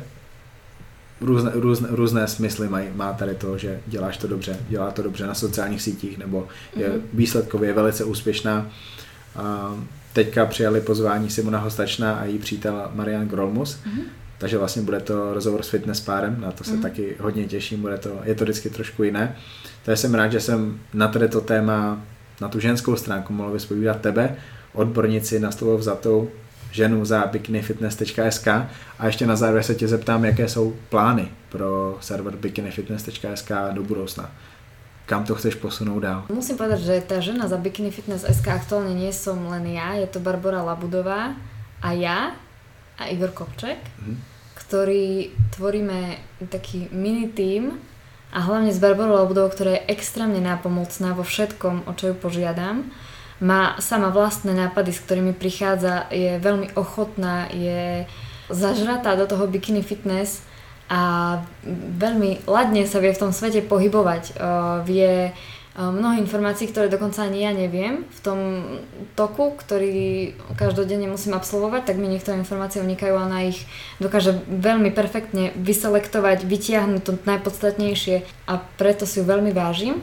Různé, různé, různé smysly maj, má tady to, že děláš to dobře, dělá to dobře na sociálních sítích, nebo je mm-hmm. výsledkově velice úspěšná. Uh, teďka přijali pozvání Simona Hostačná a její přítel Marian Grolmus, mm-hmm. takže vlastně bude to rozhovor s fitness párem, na to se mm-hmm. taky hodně těším, bude to, je to vždycky trošku jiné. Takže jsem rád, že jsem na tady to téma na tu ženskou stránku mohl vyspovídat tebe, odbornici na slovo vzatou ženu za bikini fitness tečka es ká a ještě na závěr se tě zeptám, jaké jsou plány pro server bikini fitness tečka es ká do budoucna. Kam to chceš posunout dál? Musím povedať, že tá žena za bikini fitness tečka es ká aktuálne nie som len ja, je to Barbora Labudová a ja a Igor Kopček, mm-hmm. ktorí tvoríme taký mini tím a hlavne s Barborou Labudovou, ktorá je extrémne nápomocná vo všetkom, o čo ju požiadam. Má sama vlastné nápady, s ktorými prichádza, je veľmi ochotná, je zažratá do toho bikini fitness a veľmi ladne sa vie v tom svete pohybovať. Vie mnoho informácií, ktoré dokonca ani ja neviem v tom toku, ktorý každodenne musím absolvovať, tak mi niektoré informácie unikajú a ona ich dokáže veľmi perfektne vyselektovať, vytiahnuť to najpodstatnejšie a preto si ju veľmi vážim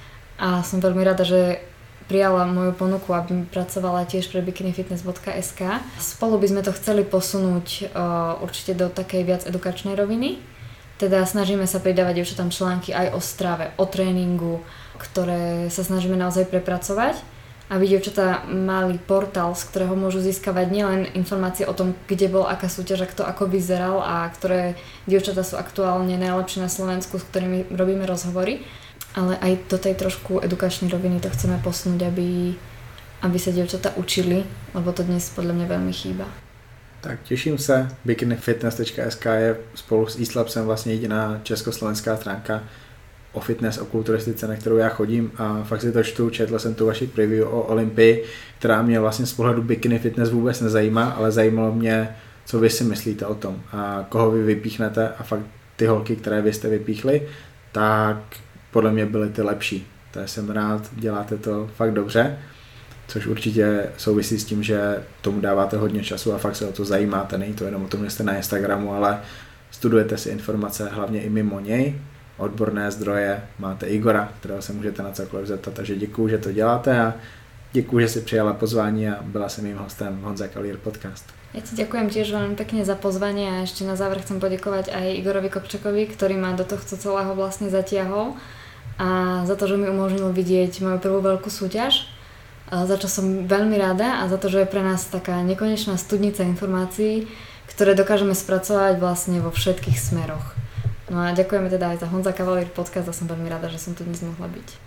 a som veľmi rada, že prijala moju ponuku, aby mi pracovala tiež pre bikini fitness bodka es ká. Spolu by sme to chceli posunúť uh, určite do takej viac edukačnej roviny. Teda snažíme sa pridávať dievčatám články aj o strave, o tréningu, ktoré sa snažíme naozaj prepracovať. aby dievčatá mali portál, z ktorého môžu získavať nielen informácie o tom, kde bol, aká súťaž a kto ako vyzeral a ktoré dievčatá sú aktuálne najlepšie na Slovensku, s ktorými robíme rozhovory, ale aj do tej trošku edukačnej roviny to chceme posunúť, aby, aby sa dievčatá učili, lebo to dnes podľa mňa veľmi chýba. Tak těším se, bikini fitness tečka es ká je spolu s eSlabsem vlastně jediná československá stránka o fitness, o kulturistice, na kterou já chodím a fakt si to čtu, četl jsem tu vaši preview o Olympii, která mě vlastně z pohledu bikini fitness vůbec nezajímá, ale zajímalo mě, co vy si myslíte o tom a koho vy vypíchnete a fakt ty holky, které vy jste vypíchli, tak podle mě byly ty lepší. Tak jsem rád, děláte to fakt dobře, což určitě souvisí s tím, že tomu dáváte hodně času a fakt se o to zajímáte. Není to jenom o tom, že jste na Instagramu, ale studujete si informace hlavně i mimo něj, odborné zdroje, máte Igora, kterého se můžete na cokoliv zeptat, takže děkuju, že to děláte a děkuju, že si přijala pozvání a byla jsem mým hostem Honza Kalír podcast. Ja ti ďakujem tiež veľmi pekne za pozvanie a ešte na záver chcem poďakovať aj Igorovi Kopčekovi, ktorý ma do tohto celého vlastne zatiahol a za to, že mi umožnil vidieť moju prvú veľkú súťaž, za čo som veľmi rada a za to, že je pre nás taká nekonečná studnica informácií, ktoré dokážeme spracovať vlastne vo všetkých smeroch. No a ďakujeme teda aj za Honza Kalír podcast a som veľmi rada, že som tu dnes mohla byť.